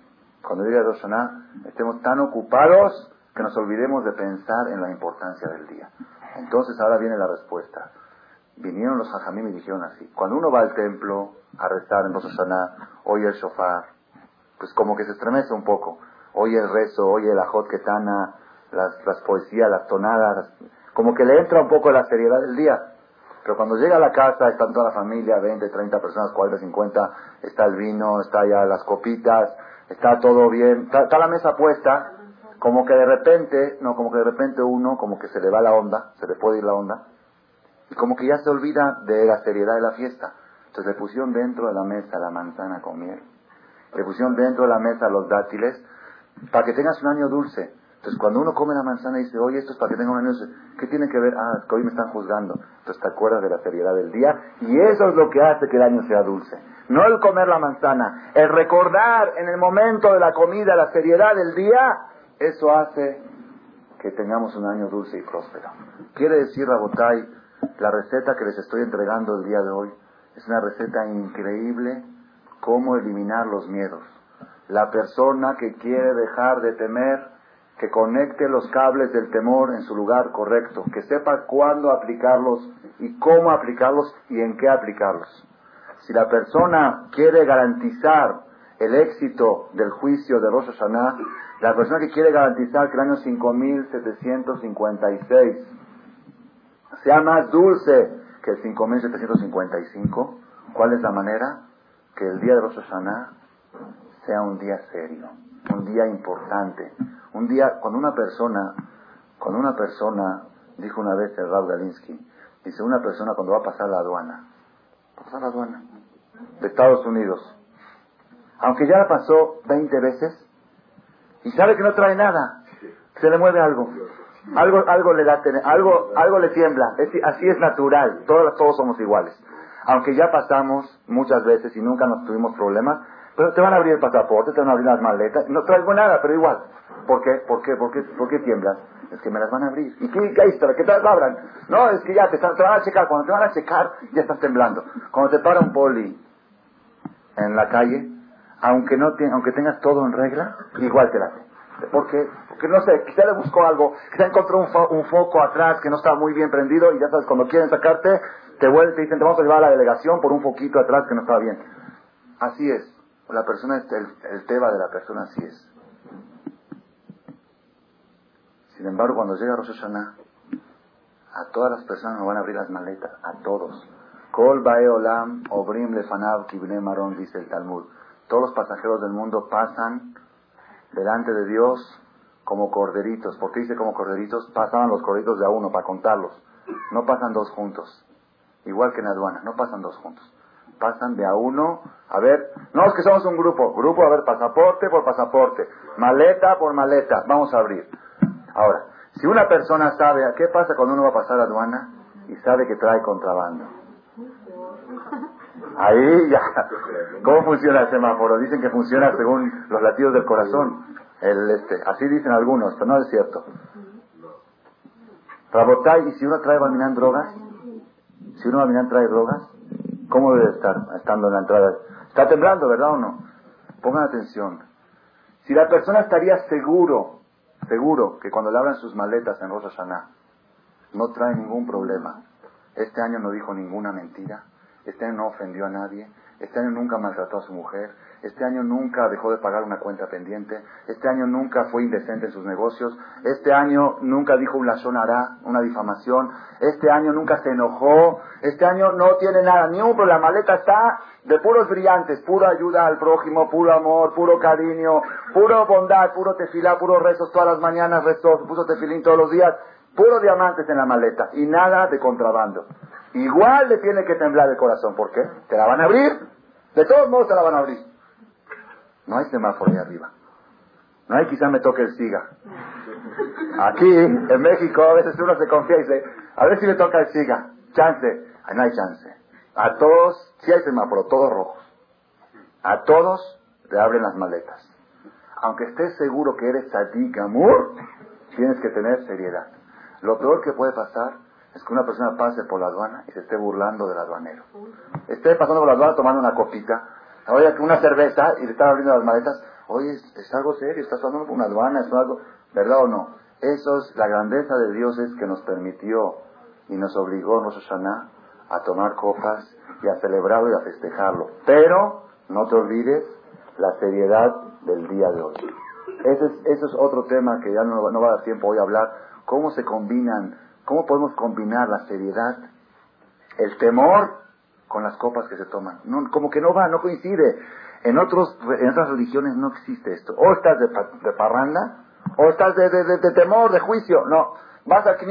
Hashanah, estemos tan ocupados que nos olvidemos de pensar en la importancia del día. Entonces ahora viene la respuesta. Vinieron los Jajamim y dijeron así: cuando uno va al templo a rezar en Rosh Hashanah, oye el shofar, pues como que se estremece un poco. Oye el rezo, oye el ajot ketana, las poesías, las tonadas, como que le entra un poco la seriedad del día. Pero cuando llega a la casa, están toda la familia, 20, 30 personas, 40, 50, está el vino, está ya las copitas, está todo bien, está la mesa puesta, como que de repente uno, como que se le va la onda, se le puede ir la onda, y como que ya se olvida de la seriedad de la fiesta. Entonces le pusieron dentro de la mesa la manzana con miel, le pusieron dentro de la mesa los dátiles, para que tengas un año dulce. Entonces cuando uno come la manzana y dice, oye, esto es para que tenga un año dulce, ¿qué tiene que ver? Ah, es que hoy me están juzgando. Entonces te acuerdas de la seriedad del día, y eso es lo que hace que el año sea dulce. No el comer la manzana, el recordar en el momento de la comida la seriedad del día, eso hace que tengamos un año dulce y próspero. Quiere decir, Rabotay, la receta que les estoy entregando el día de hoy es una receta increíble, cómo eliminar los miedos. La persona que quiere dejar de temer, que conecte los cables del temor en su lugar correcto, que sepa cuándo aplicarlos y cómo aplicarlos y en qué aplicarlos. Si la persona quiere garantizar el éxito del juicio de Rosh Hashanah, la persona que quiere garantizar que el año 5756 sea más dulce que el 5755, ¿cuál es la manera? Que el día de Rosh Hashanah sea un día serio, un día importante, un día cuando una persona, dijo una vez el Rav Galinsky, dice una persona cuando va a pasar la aduana de Estados Unidos, aunque ya la pasó 20 veces y sabe que no trae nada, se le mueve algo le da, algo le tiembla, así es natural, todos somos iguales, aunque ya pasamos muchas veces y nunca nos tuvimos problemas, pero te van a abrir el pasaporte, te van a abrir las maletas, no traigo nada, pero igual. ¿Por qué tiemblas? Es que me las van a abrir. ¿Y qué historia? ¿Qué tal abran? No, es que ya te van a checar. Cuando te van a checar, ya estás temblando. Cuando te para un poli en la calle, aunque tengas todo en regla, igual te la hace. ¿Por qué? Porque no sé, quizá le buscó algo, quizá encontró un foco atrás que no estaba muy bien prendido y ya sabes, cuando quieren sacarte, te vuelven y te dicen, te vamos a llevar a la delegación por un foquito atrás que no estaba bien. Así es. La persona, el teba de la persona así es. Sin embargo, cuando llega Rosh Hashanah, a todas las personas nos van a abrir las maletas, a todos. Kol bae olam obrim lefanav kibnei maron, dice el Talmud. Todos los pasajeros del mundo pasan delante de Dios como corderitos. ¿Por qué dice como corderitos? Pasaban los corderitos de a uno para contarlos. No pasan dos juntos. Igual que en la aduana, no pasan dos juntos. Pasan de a uno, a ver, no es que somos un grupo, a ver, pasaporte por pasaporte, maleta por maleta, vamos a abrir. Ahora, si una persona sabe, ¿qué pasa cuando uno va a pasar a aduana y sabe que trae contrabando? Ahí ya, ¿cómo funciona el semáforo? Dicen que funciona según los latidos del corazón, así dicen algunos, pero no es cierto. Rabotay, ¿y si uno trae Balminán drogas? Si uno Balminán trae drogas, ¿cómo debe estar estando en la entrada? Está temblando, ¿verdad o no? Pongan atención. Si la persona estaría seguro que cuando le abran sus maletas en Rosh Hashanah no trae ningún problema, este año no dijo ninguna mentira, este año no ofendió a nadie, este año nunca maltrató a su mujer, este año nunca dejó de pagar una cuenta pendiente, este año nunca fue indecente en sus negocios, este año nunca dijo un lashon hará, una difamación, este año nunca se enojó, este año no tiene nada, ni un problema, la maleta está de puros brillantes, pura ayuda al prójimo, puro amor, puro cariño, puro bondad, puro tefilá, puros rezos todas las mañanas, rezos, puso tefilín todos los días, puros diamantes en la maleta y nada de contrabando. Igual le tiene que temblar el corazón, ¿por qué? Te la van a abrir, de todos modos te la van a abrir. No hay semáforo ahí arriba. No hay quizá me toque el SIGA. Aquí, en México, a veces uno se confía y dice, a ver si me toca el SIGA. Chance. Ay, no hay chance. A todos, sí hay semáforo, todos rojos. A todos te abren las maletas. Aunque estés seguro que eres tzadik gamur, tienes que tener seriedad. Lo peor que puede pasar es que una persona pase por la aduana y se esté burlando del aduanero. Esté pasando por la aduana tomando una copita, oye, una cerveza y le están abriendo las maletas. Oye, es algo serio, estás pasando por una aduana, es algo, ¿verdad o no? Eso es la grandeza de Dios, es que nos permitió y nos obligó en Rosh Hashanah a tomar copas y a celebrarlo y a festejarlo. Pero no te olvides la seriedad del día de hoy. Ese es otro tema que ya no va a dar tiempo hoy a hablar. ¿Cómo se combinan? ¿Cómo podemos combinar la seriedad, el temor, con las copas que se toman? No, como que no coincide. En otras religiones no existe esto. O estás de parranda, o estás de temor, de juicio. No. Vas a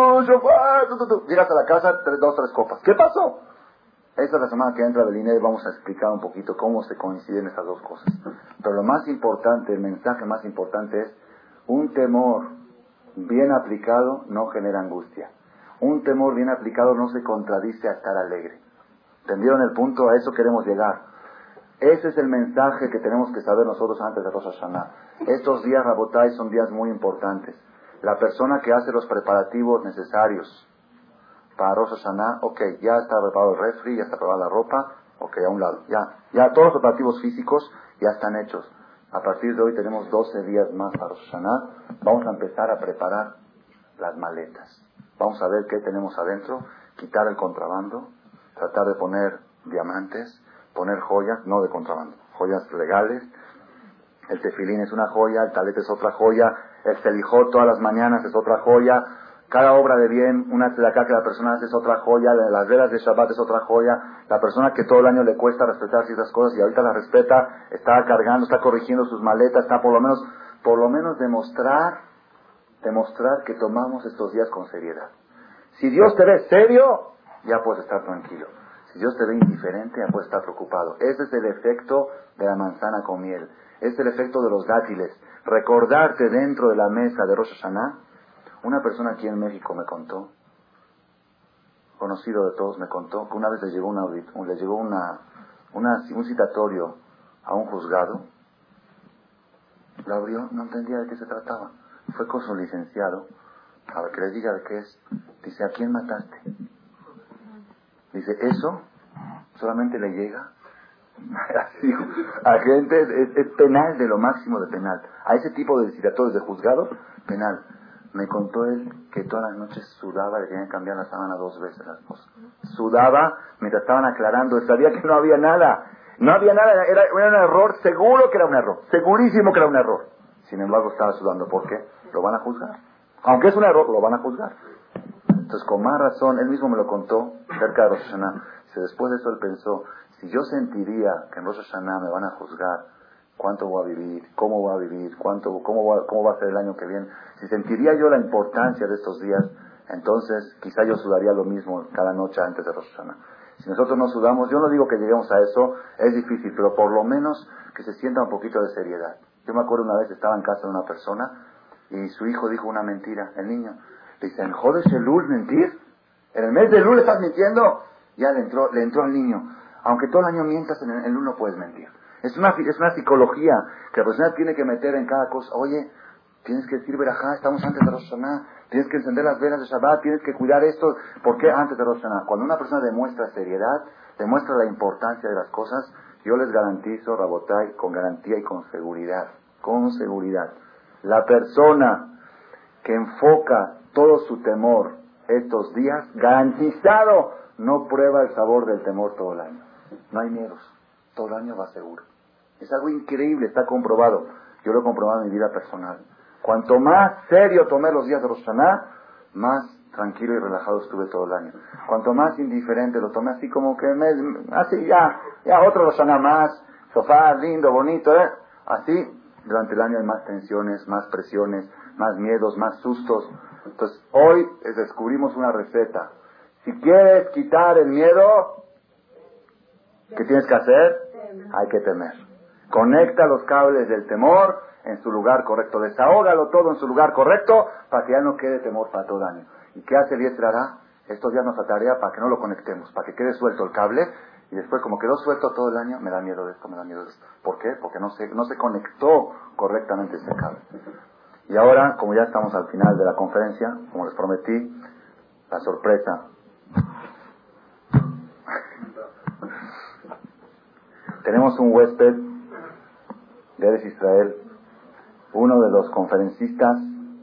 llegas a la casa, 2-3 copas. ¿Qué pasó? Esta es la semana que entra del INE y vamos a explicar un poquito cómo se coinciden esas dos cosas. Pero lo más importante, el mensaje más importante es, un temor bien aplicado no genera angustia. Un temor bien aplicado no se contradice a estar alegre. ¿Entendieron el punto? A eso queremos llegar. Ese es el mensaje que tenemos que saber nosotros antes de Rosh Hashanah. Estos días, Rabotai, son días muy importantes. La persona que hace los preparativos necesarios para Rosh Hashanah, ya está preparado el refri, ya está preparada la ropa, a un lado. Ya todos los preparativos físicos ya están hechos. A partir de hoy tenemos 12 días más para Rosh Hashanah. Vamos a empezar a preparar las maletas. Vamos a ver qué tenemos adentro, quitar el contrabando, tratar de poner diamantes, poner joyas, no de contrabando, joyas legales. El tefilín es una joya, el talet es otra joya, el selijot todas las mañanas es otra joya, cada obra de bien, una tzedakah que la persona hace es otra joya, las velas de Shabbat es otra joya, la persona que todo el año le cuesta respetar ciertas cosas y ahorita las respeta, está cargando, está corrigiendo sus maletas, está por lo menos demostrar que tomamos estos días con seriedad. Si Dios te ve serio, ya puedes estar tranquilo. Si Dios te ve indiferente, ya puedes estar preocupado. Ese es el efecto de la manzana con miel. Ese es el efecto de los dátiles. Recordarte dentro de la mesa de Rosh Hashanah. Una persona aquí en México me contó, conocido de todos, me contó que una vez le llegó un citatorio a un juzgado. Lo abrió, no entendía de qué se trataba. Fue con su licenciado, a ver que le diga de qué es. Dice, ¿a quién mataste? Dice, ¿eso solamente le llega? Así, a gente, es penal de lo máximo de penal. A ese tipo de citatorios de juzgado, penal. Me contó él que todas las noches sudaba, le tenían que cambiar la sábana 2 veces a la esposa. Sudaba mientras estaban aclarando, él sabía que no había nada. No había nada, era un error, seguro que era un error, segurísimo que era un error. Sin embargo estaba sudando, ¿por qué? Lo van a juzgar. Aunque es un error, lo van a juzgar. Entonces con más razón, él mismo me lo contó cerca de Rosh Hashanah. Después de eso él pensó, si yo sentiría que en Rosh Hashanah me van a juzgar, ¿cuánto voy a vivir? ¿Cómo voy a vivir? ¿Cómo va a ser el año que viene? Si sentiría yo la importancia de estos días, entonces quizá yo sudaría lo mismo cada noche antes de Rosh Hashanah. Si nosotros no sudamos, yo no digo que lleguemos a eso, es difícil, pero por lo menos que se sienta un poquito de seriedad. Yo me acuerdo una vez, estaba en casa de una persona y su hijo dijo una mentira, el niño. Le dice, ¿en Jodesh Elul mentir? ¿En el mes de Elul estás mintiendo? Ya le entró al niño. Aunque todo el año mientas, en el Elul no puedes mentir. Es una psicología que la persona tiene que meter en cada cosa. Oye, tienes que decir verajá, estamos antes de Rosh Hashanah, tienes que encender las velas de Shabbat, tienes que cuidar esto. ¿Por qué antes de Rosh Hashanah? Cuando una persona demuestra seriedad, demuestra la importancia de las cosas, yo les garantizo, Rabotai, con garantía y con seguridad, la persona que enfoca todo su temor estos días, garantizado, no prueba el sabor del temor todo el año. No hay miedos, todo el año va seguro. Es algo increíble, está comprobado. Yo lo he comprobado en mi vida personal. Cuanto más serio tomé los días de Rosh Hashanah, más tranquilo y relajado estuve todo el año. Cuanto más indiferente lo tomé, así como que así ya otro Rosh Hashanah más, sofá lindo, bonito, así durante el año hay más tensiones, más presiones, más miedos, más sustos. Entonces hoy descubrimos una receta. Si quieres quitar el miedo, ¿qué tienes que hacer? Hay que temer. Conecta los cables del temor en su lugar correcto. Desahógalo todo en su lugar correcto para que ya no quede temor para todo el año. ¿Y qué hace el Yetzirah? Estos días nos atarea para que no lo conectemos, para que quede suelto el cable y después como quedó suelto todo el año, me da miedo de esto, me da miedo de esto. ¿Por qué? Porque no se conectó correctamente ese cable. Y ahora, como ya estamos al final de la conferencia, como les prometí, la sorpresa. Tenemos un huésped de Eretz Israel, uno de los conferencistas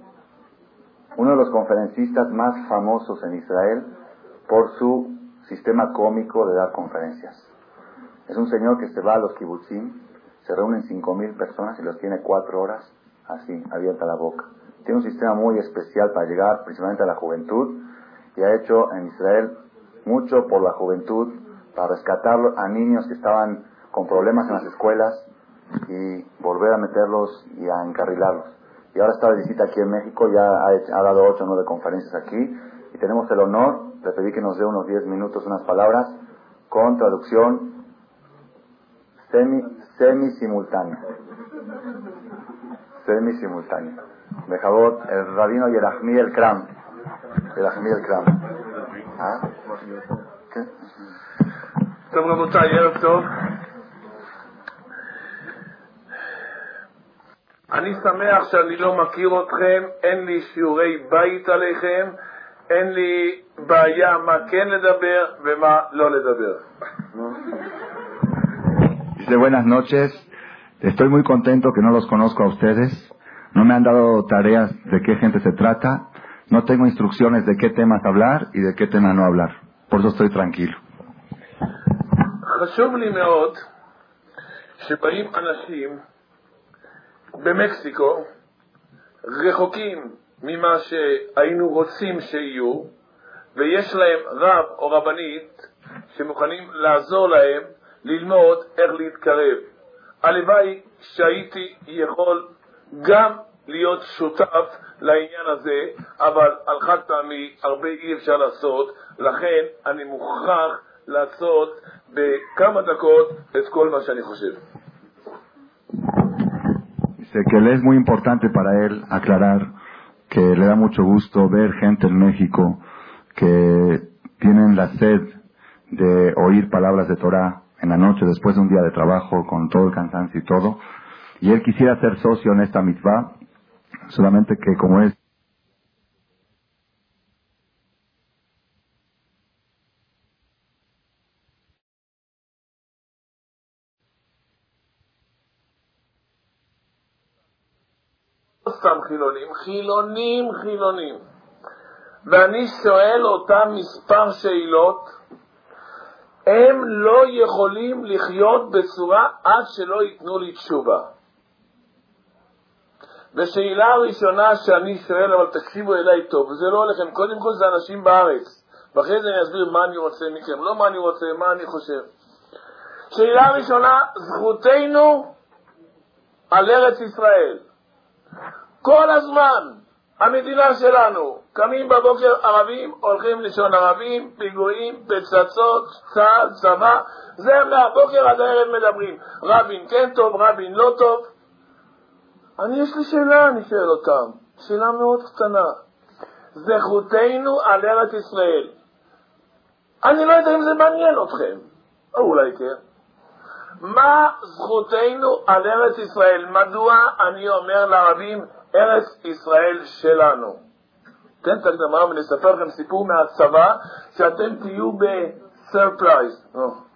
más famosos en Israel por su sistema cómico de dar conferencias. Es un señor que se va a los kibutzim, se reúnen 5,000 personas y los tiene 4 horas así, abierta la boca. Tiene un sistema muy especial para llegar principalmente a la juventud y ha hecho en Israel mucho por la juventud, para rescatar a niños que estaban con problemas en las escuelas y volver a meterlos y a encarrilarlos. Y ahora está de visita aquí en México, ya ha dado 8 o 9 conferencias aquí y tenemos el honor de pedir que nos dé unos 10 minutos, unas palabras con traducción semi-simultánea. De Jabot, el rabino Yerachmi el Kram. ¿Ah? ¿Qué? טוב רבותיי, ערב טוב. אני שמח שאני לא מכיר אתכם, אין לי שיעורי בית עליכם, אין לי בעיה מה כן לדבר ומה לא לדבר. Dice buenas noches, Estoy muy contento que no los conozco a ustedes. No me han dado tareas de qué gente se trata. No tengo instrucciones de qué temas hablar y de qué tema no hablar. Por eso estoy tranquilo. חשוב לי מאוד שבאים אנשים במקסיקו רחוקים ממה שהיינו רוצים שיהיו, ויש להם רב או רבנית שמוכנים לעזור להם ללמוד איך להתקרב. הלוואי שהייתי יכול גם להיות שותף לעניין הזה, אבל על חד פעמי הרבה אי אפשר לעשות, לכן אני מוכרח לעשות בכמה דקות את כל מה שאני חושב. Dice que le es muy importante para él aclarar que le da mucho gusto ver gente en México que tienen la sed de oír palabras de Torah en la noche después de un día de trabajo con todo el cansancio y todo, y él quisiera ser socio en esta mitzvah, solamente que como es סתם חילונים, ואני שואל אותם מספר שאלות, הם לא יכולים לחיות בצורה עד שלא ייתנו לי תשובה. ושאלה הראשונה שאני שואל, אבל תקשיבו אליי טוב, וזה לא הולכם, קודם כל זה אנשים בארץ, ואחרי זה אני אסביר מה אני רוצה מכם, לא מה אני רוצה, מה אני חושב. שאלה ראשונה, זכותנו על ארץ ישראל. כל הזמן, המדינה שלנו, קמים בבוקר ערבים, הולכים לישון ערבים, פיגועים, פצצות, צה"ל, צבא, זה מהבוקר עד הערב מדברים. רבין כן טוב, רבין לא טוב. יש לי שאלה, אני שואל אותם, שאלה מאוד קטנה. זכותנו על ארץ ישראל. אני לא יודע אם זה מעניין אתכם, או אולי כן. מה זכותנו על ארץ ישראל? מדוע אני אומר לערבים ארץ ישראל שלנו? תן את הקדמה ונספר לכם סיפור מהצבא שאתם תהיו בסרפרייז.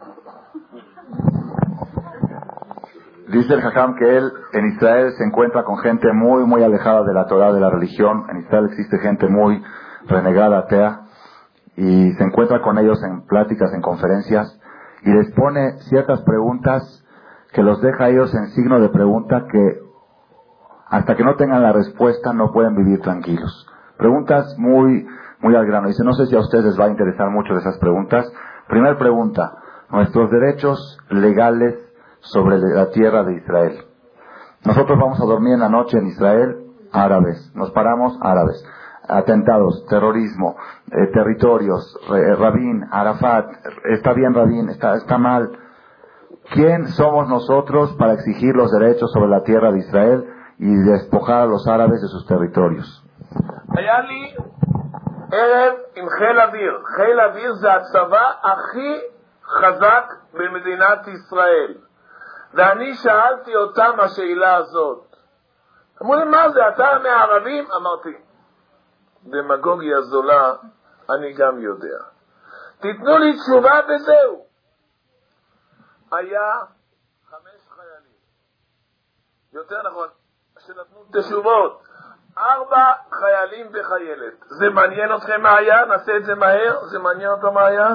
Dice el Jajam que él en Israel se encuentra con gente muy alejada de la Torah, de la religión. En Israel existe gente muy renegada, atea, y se encuentra con ellos en pláticas, en conferencias, y les pone ciertas preguntas que los deja a ellos en signo de pregunta, que hasta que no tengan la respuesta no pueden vivir tranquilos. Preguntas muy al grano. Dice, no sé si a ustedes les va a interesar mucho de esas preguntas. Primera pregunta, nuestros derechos legales sobre la tierra de Israel. Nosotros vamos a dormir en la noche en Israel, árabes. Nos paramos, árabes. Atentados, terrorismo, territorios, Rabin, Arafat, está bien Rabin, está mal. ¿Quién somos nosotros para exigir los derechos sobre la tierra de Israel y despojar a los árabes de sus territorios? היה לי ערב עם חיל אוויר. חיל אוויר זה הצבא הכי חזק במדינת ישראל. ואני שאלתי אותם השאלה הזאת. אמרו לי, מה זה, אתה מהערבים? אמרתי, דמגוגיה זולה, אני גם יודע. תיתנו לי תשובה וזהו. היה 5 חיילים. יותר נכון, שנתנו תשובות. 4 חיילים וחיילת. זה מעניין אתכם מה היה? נעשה את זה מהר? זה מעניין אותו מה היה?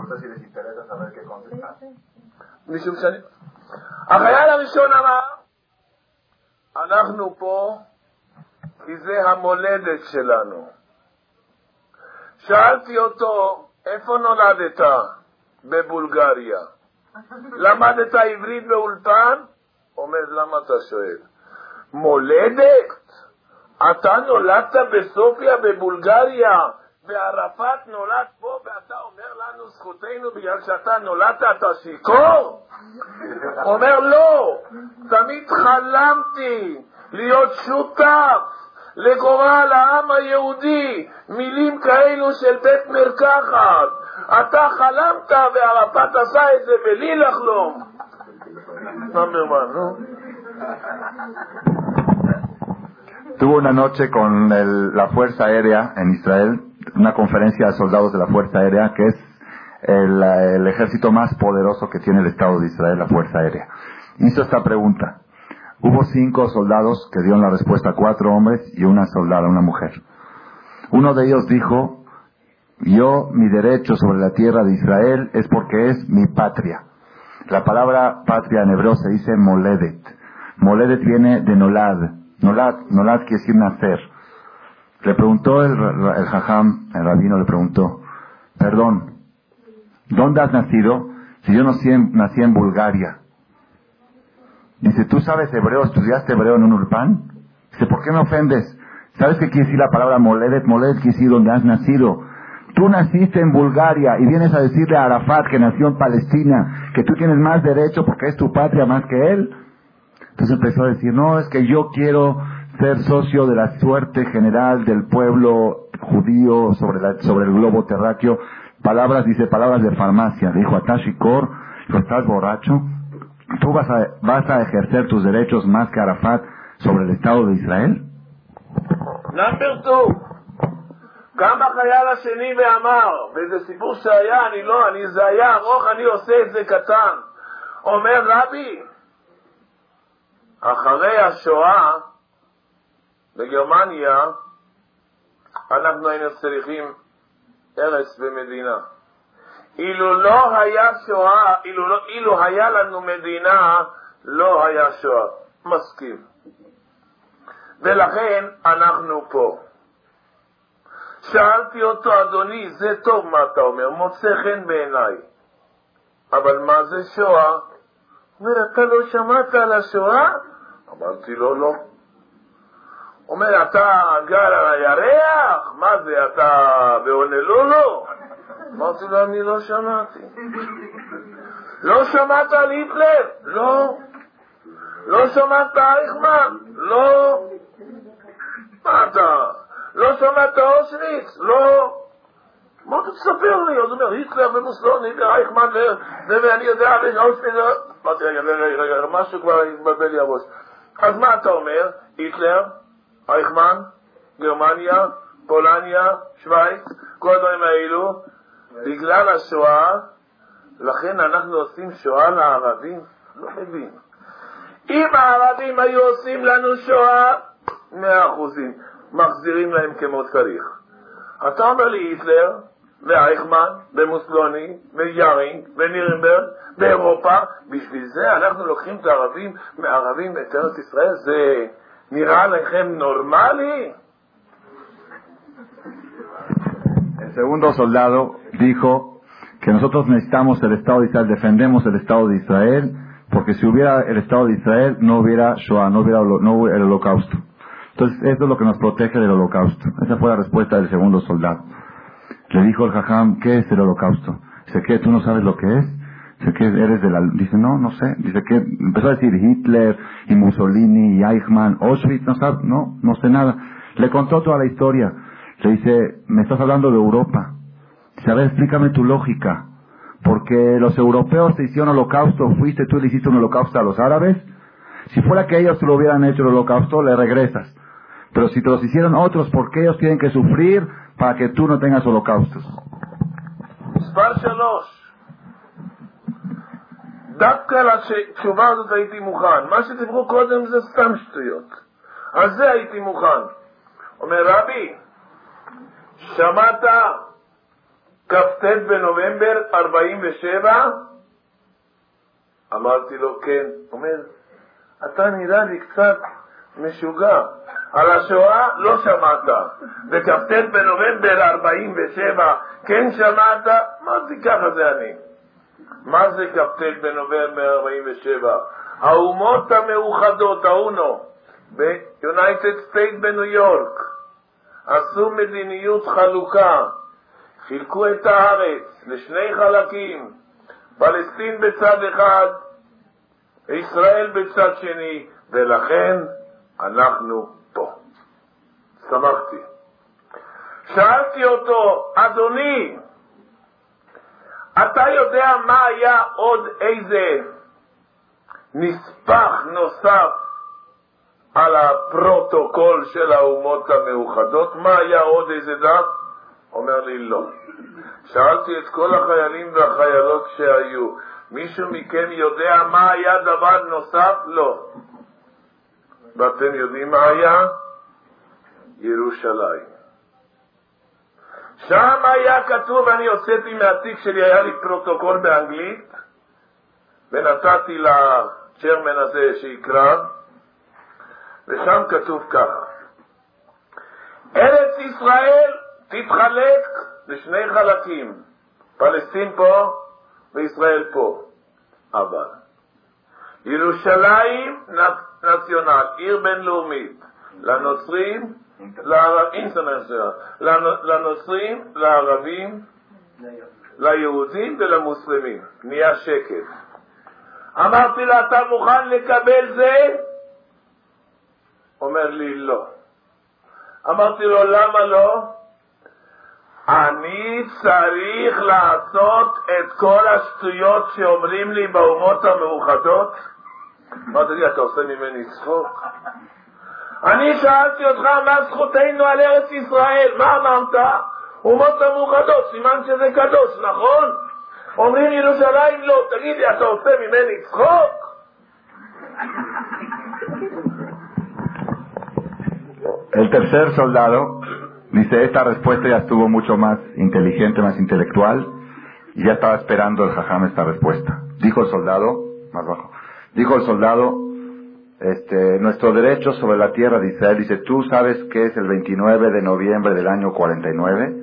משום שאני... החייל הראשון אמר, אנחנו פה כי זה המולדת שלנו. שאלתי אותו, איפה נולדת? בבולגריה. למדת עברית באולפן? אומר, למה אתה שואל? מולדת? אתה נולדת בסופיה בבולגריה, וערפאת נולד פה, ואתה אומר לנו זכותנו בגלל שאתה נולדת, אתה שיכור? אומר, לא, תמיד חלמתי להיות שותף לגורל העם היהודי, מילים כאלו של בית מרקחת. אתה חלמת וערפאת עשה את זה בלי לחלום. נאמרמן, נו? Tuvo una noche con la Fuerza Aérea en Israel, una conferencia de soldados de la Fuerza Aérea, que es el ejército más poderoso que tiene el Estado de Israel, la Fuerza Aérea. Hizo esta pregunta: Hubo 5 soldados que dieron la respuesta, 4 hombres y una soldada, una mujer. Uno de ellos dijo, yo, mi derecho sobre la tierra de Israel es porque es mi patria. La palabra patria en hebreo se dice moledet. Moledet viene de nolad. Nolad quiere decir nacer. Le preguntó el jajam, el rabino le preguntó, perdón, ¿dónde has nacido? Si yo nací en Bulgaria. Dice, ¿tú sabes hebreo? ¿Estudiaste hebreo en un urpán? Dice, ¿por qué me ofendes? ¿Sabes qué quiere decir la palabra moledet? Moledet quiere decir donde has nacido. Tú naciste en Bulgaria y vienes a decirle a Arafat, que nació en Palestina, que tú tienes más derecho porque es tu patria más que él. Entonces empezó a decir, no, es que yo quiero ser socio de la suerte general del pueblo judío sobre el globo terráqueo. Palabras de farmacia. Le dijo a Tashikor, ¿estás borracho? ¿Tú vas a ejercer tus derechos más que Arafat sobre el Estado de Israel? Number 2. קם החייל השני ואמר, וזה סיפור שהיה, זה היה ארוך, אני עושה את זה קטן. אומר רבי, אחרי השואה בגרמניה, אנחנו היינו צריכים ארץ ומדינה. אילו לא היה שואה, אילו היה לנו מדינה, לא היה שואה. מסכים. ולכן אנחנו פה. שאלתי אותו, אדוני, זה טוב מה אתה אומר, מוצא חן בעיניי. אבל מה זה שואה? אומר, אתה לא שמעת על השואה? אמרתי לו, לא. אומר, אתה גר על הירח? מה זה, אתה בהונולולו? אמרתי לו, אני לא שמעתי. לא שמעת על היטלר? לא. לא שמעת אייכמן? לא. מה אתה? לא שמעת אושוויץ? לא. מה אתה תספר לי? אז הוא אומר, היטלר ומוסלוני ואייכמן ואני יודע על אושוויץ. אמרתי, רגע, משהו כבר התבלבל לי הראש. אז מה אתה אומר? היטלר, אייכמן, גרמניה, פולניה, שווייץ, כל הדברים האלו, בגלל השואה, לכן אנחנו עושים שואה לערבים? לא מבין. אם הערבים היו עושים לנו שואה, 100%. מחזירים להם כמו צריך. אתה אומר לי היטלר ואייכמן ומוסלוני ויארינג ונירנברג באירופה, בשביל זה אנחנו לוקחים את הערבים מערבים את ארץ ישראל? זה נראה לכם נורמלי? El segundo soldado dijo que nosotros necesitamos el Estado de Israel, defendemos el Estado de Israel, porque si hubiera el Estado de Israel no hubiera Shoah, no hubiera el holocausto. Entonces, eso es lo que nos protege del holocausto. Esa fue la respuesta del segundo soldado. Le dijo el jajam, ¿qué es el holocausto? Dice, ¿qué? ¿Tú no sabes lo que es? Dice, ¿qué? ¿Eres de la...? Dice, no sé. Dice, ¿qué? Empezó a decir Hitler, y Mussolini, y Eichmann, Auschwitz, no sabe, no sé nada. Le contó toda la historia. Le dice, me estás hablando de Europa. Dice, a ver, explícame tu lógica. Porque los europeos te hicieron holocausto, fuiste tú y le hiciste un holocausto a los árabes. Si fuera que ellos te lo hubieran hecho el holocausto, le regresas. Pero si te los hicieron otros, ¿por qué ellos tienen que sufrir para que tú no tengas holocaustos? מספר 3. דווקא לתשובה הזאת הייתי מוכן. מה שדיברו קודם זה סתם שטויות. על זה הייתי מוכן. אומר רבי, שמעת כ"ט בנובמבר 47? אמרתי לו כן. אומר, אתה נראה לי קצת משוגע. על השואה לא שמעת, וכ"ט בנובמבר 47 כן שמעת? מה זה ככה זה אני? מה זה כ"ט בנובמבר 47? האומות המאוחדות, האונו, ביונייטד סטייט בניו יורק, עשו מדיניות חלוקה, חילקו את הארץ לשני חלקים, פלסטין בצד אחד, ישראל בצד שני, ולכן אנחנו פה. שמחתי. שאלתי אותו, אדוני, אתה יודע מה היה עוד איזה נספח נוסף על הפרוטוקול של האומות המאוחדות? מה היה עוד איזה דף? אומר לי לא. שאלתי את כל החיילים והחיילות שהיו, מישהו מכם יודע מה היה דבר נוסף? לא. ואתם יודעים מה היה? ירושלים. שם היה כתוב, אני הוצאתי מהתיק שלי, היה לי פרוטוקול באנגלית, ונתתי לצ'רמן הזה שיקרא, ושם כתוב ככה: ארץ ישראל תתחלק לשני חלקים, פלסטין פה וישראל פה, אבל ירושלים נציונל, עיר בינלאומית, לנוצרים, לנוצרים, לערבים, ליהודים ולמוסלמים. נהיה שקט. אמרתי לה, אתה מוכן לקבל זה? אומר לי, לא. אמרתי לו, למה לא? אני צריך לעשות את כל השטויות שאומרים לי באומות המאוחדות. אמרתי לי, אתה עושה ממני צחוק? אני שאלתי אותך מה זכותנו על ארץ ישראל, מה אמרת? אומות המאוחדות, סימן שזה קדוש, נכון? אומרים ירושלים לא, תגיד לי, אתה עושה ממני צחוק? El tercer soldado dice, esta respuesta ya estuvo mucho más inteligente, más intelectual, y ya estaba esperando el jajam esta respuesta. Dijo el soldado, más bajo, dijo el soldado, nuestro derecho sobre la tierra de Israel, dice, ¿tú sabes qué es el 29 de noviembre del año 49?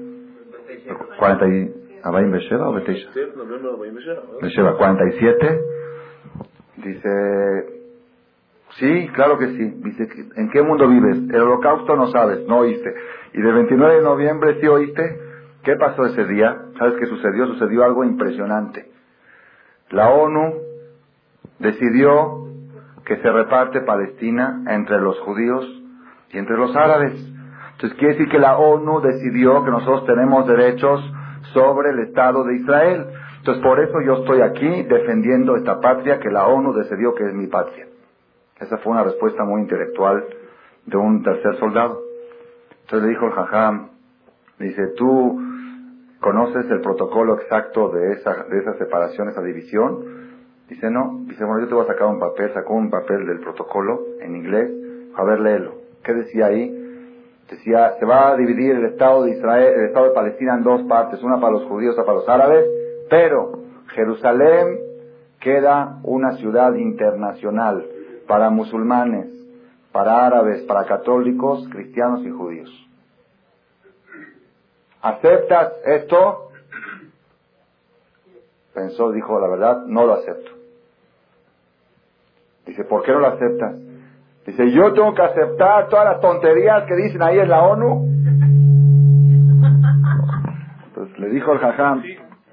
47. Dice, sí, claro que sí. Dice, ¿en qué mundo vives? El holocausto no sabes, no oíste. Y del 29 de noviembre sí oíste. ¿Qué pasó ese día? ¿Sabes qué sucedió? Sucedió algo impresionante. La ONU decidió que se reparte Palestina entre los judíos y entre los árabes. Entonces quiere decir que la ONU decidió que nosotros tenemos derechos sobre el Estado de Israel. Entonces por eso yo estoy aquí defendiendo esta patria que la ONU decidió que es mi patria. Esa fue una respuesta muy intelectual de un tercer soldado. Entonces le dijo el jajam, dice, ¿tú conoces el protocolo exacto de esa separación, esa división? Dice, no. Dice, bueno, yo te voy a sacar un papel. Sacó un papel del protocolo en inglés. A ver, léelo. ¿Qué decía ahí? Decía, se va a dividir el Estado de Israel, el Estado de Palestina en dos partes, una para los judíos, otra para los árabes, pero Jerusalén queda una ciudad internacional para musulmanes, para árabes, para católicos, cristianos y judíos. ¿Aceptas esto? Pensó, dijo, la verdad, no lo acepto. Dice, ¿por qué no lo aceptas? Dice, yo tengo que aceptar todas las tonterías que dicen ahí en la ONU. Entonces le dijo el jajam,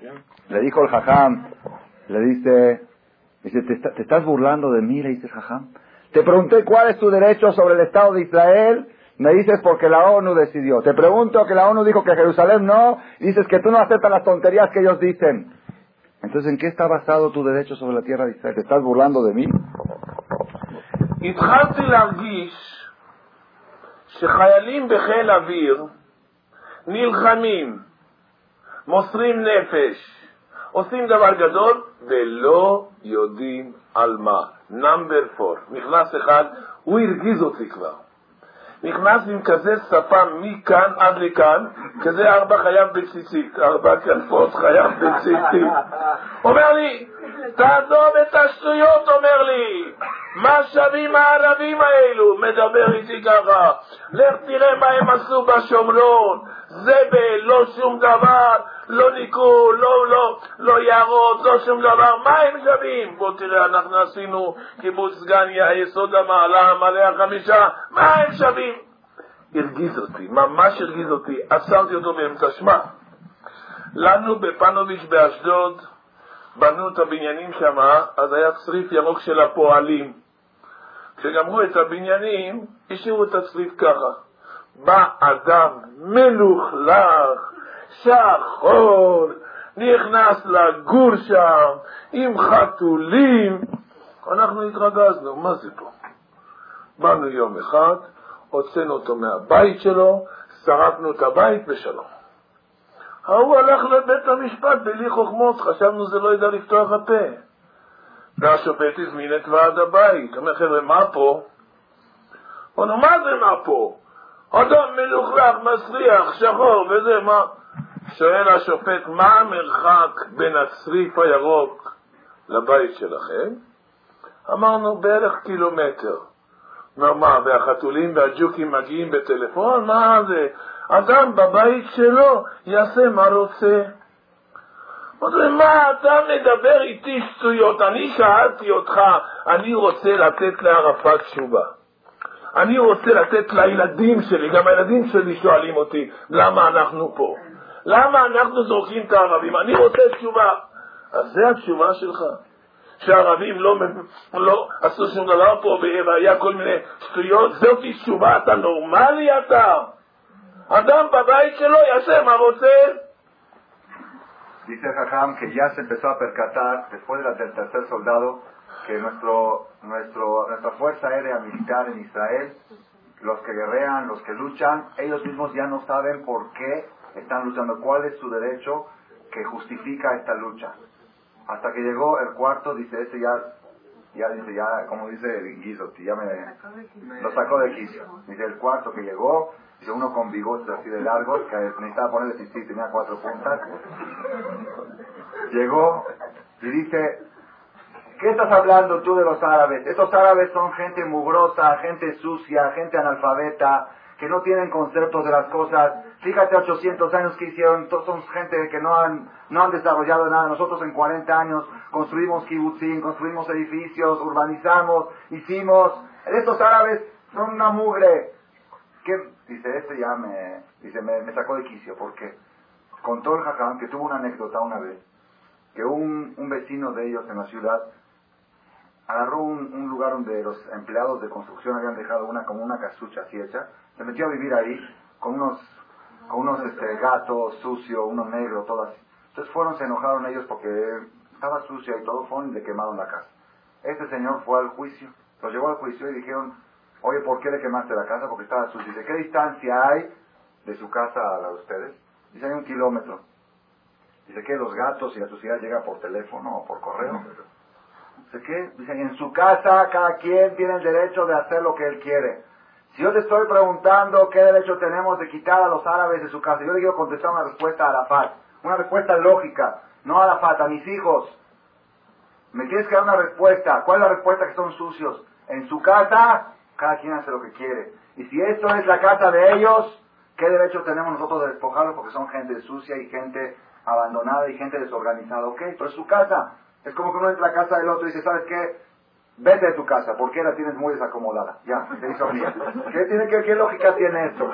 le dice, ¿te estás burlando de mí? Le dice el jajam. Te pregunté cuál es tu derecho sobre el Estado de Israel, me dices porque la ONU decidió. Te pregunto que la ONU dijo que Jerusalén no, y dices que tú no aceptas las tonterías que ellos dicen. Entonces, ¿en qué está basado tu derecho sobre la tierra de Israel? ¿Te estás burlando de mí? התחלתי להרגיש שחיילים בחיל אוויר נלחמים, מוסרים נפש, עושים דבר גדול ולא יודעים על מה. נאמבר 4. נכנס אחד, הוא הרגיז אותי כבר. נכנס עם כזה שפה מכאן עד לכאן, כזה 4 חייב בציצית, 4 כנפות חייב בציצית. אומר לי, תעזוב את השטויות, אומר לי, מה שווים הערבים האלו? מדבר איתי ככה, לך תראה מה הם עשו בשומרון, זבל, לא שום דבר, לא ניקו, לא יערות, לא שום דבר, מה הם שווים? בוא תראה, אנחנו עשינו קיבוץ סגניה, יסוד המעלה, מלא החמישה, מה הם שווים? הרגיז אותי, ממש הרגיז אותי, עצרתי אותו באמצע. שמע, לנו בפנוביץ' באשדוד בנו את הבניינים שם, אז היה צריף ירוק של הפועלים. כשגמרו את הבניינים, השאירו את הצריף ככה. בא אדם מלוכלך, שחור, נכנס לגור שם, עם חתולים. אנחנו התרגזנו, מה זה פה? באנו יום אחד, הוצאנו אותו מהבית שלו, שרפנו את הבית בשלום. הוא הלך לבית המשפט בלי חוכמות, חשבנו זה לא ידע לפתוח הפה. והשופט הזמין את ועד הבית. אומר, חבר'ה, מה פה? אמרנו, מה זה מה פה? אדם מלוכלך, מסריח, שחור וזה, מה? שואל השופט, מה המרחק בין הצריף הירוק לבית שלכם? אמרנו, בערך קילומטר. מה, והחתולים והג'וקים מגיעים בטלפון? מה זה? אדם בבית שלו יעשה מה רוצה. מה אתה מדבר איתי שטויות? אני שאלתי אותך, אני רוצה לתת לערפאת תשובה. אני רוצה לתת לילדים שלי, גם הילדים שלי שואלים אותי, למה אנחנו פה? למה אנחנו זורקים את הערבים? אני רוצה תשובה. אז זה התשובה שלך. שהערבים לא עשו שום דבר פה, והיה כל מיני שטויות, זאת תשובה, אתה נורמלי אתה? אדם בבית שלו יעשה מה רוצה. Dice Jajam que ya se empezó a percatar, después del tercer soldado, que nuestra fuerza aérea militar en Israel, los que guerrean, los que luchan, ellos mismos ya no saben por qué están luchando, cuál es su derecho que justifica esta lucha. Hasta que llegó el cuarto, dice ese ya, como dice Guizotti, ya lo sacó de quicio. Dice el cuarto que llegó, dice uno con bigotes así de largos, que necesitaba ponerle sí, tenía 4 puntas. Llegó y dice, ¿qué estás hablando tú de los árabes? Estos árabes son gente mugrosa, gente sucia, gente analfabeta, que no tienen conceptos de las cosas. Fíjate, 800 años que hicieron, todos son gente que no han desarrollado nada. Nosotros en 40 años construimos kibutzim, construimos edificios, urbanizamos, hicimos. Estos árabes son una mugre. ¿Qué? Dice, me sacó de quicio, porque contó el Jajam que tuvo una anécdota una vez, que un vecino de ellos en la ciudad agarró un lugar donde los empleados de construcción habían dejado como una casucha así hecha, se metió a vivir ahí con unos gatos sucios, unos negros, todas. Entonces se enojaron ellos porque estaba sucia y todo, fueron y le quemaron la casa. Este señor fue al juicio, lo llevó al juicio y dijeron, oye, ¿por qué le quemaste la casa? Porque estaba sucia. Dice, ¿qué distancia hay de su casa a la de ustedes? Dice, hay 1 kilómetro. Dice, ¿qué? ¿Los gatos y la suciedad llega por teléfono o por correo? Dice, ¿qué? Dice, en su casa cada quien tiene el derecho de hacer lo que él quiere. Si yo te estoy preguntando qué derecho tenemos de quitar a los árabes de su casa, yo le quiero contestar una respuesta a Arafat, una respuesta lógica, no a Arafat, a mis hijos. Me tienes que dar una respuesta. ¿Cuál es la respuesta? Que son sucios. En su casa, cada quien hace lo que quiere. Y si esto es la casa de ellos, ¿qué derecho tenemos nosotros de despojarlos? Porque son gente sucia y gente abandonada y gente desorganizada. Ok, pero es su casa. Es como que uno entra a la casa del otro y dice, ¿sabes qué? Vete de tu casa, porque la tienes muy desacomodada. Ya, se hizo mía. ¿Qué lógica tiene esto?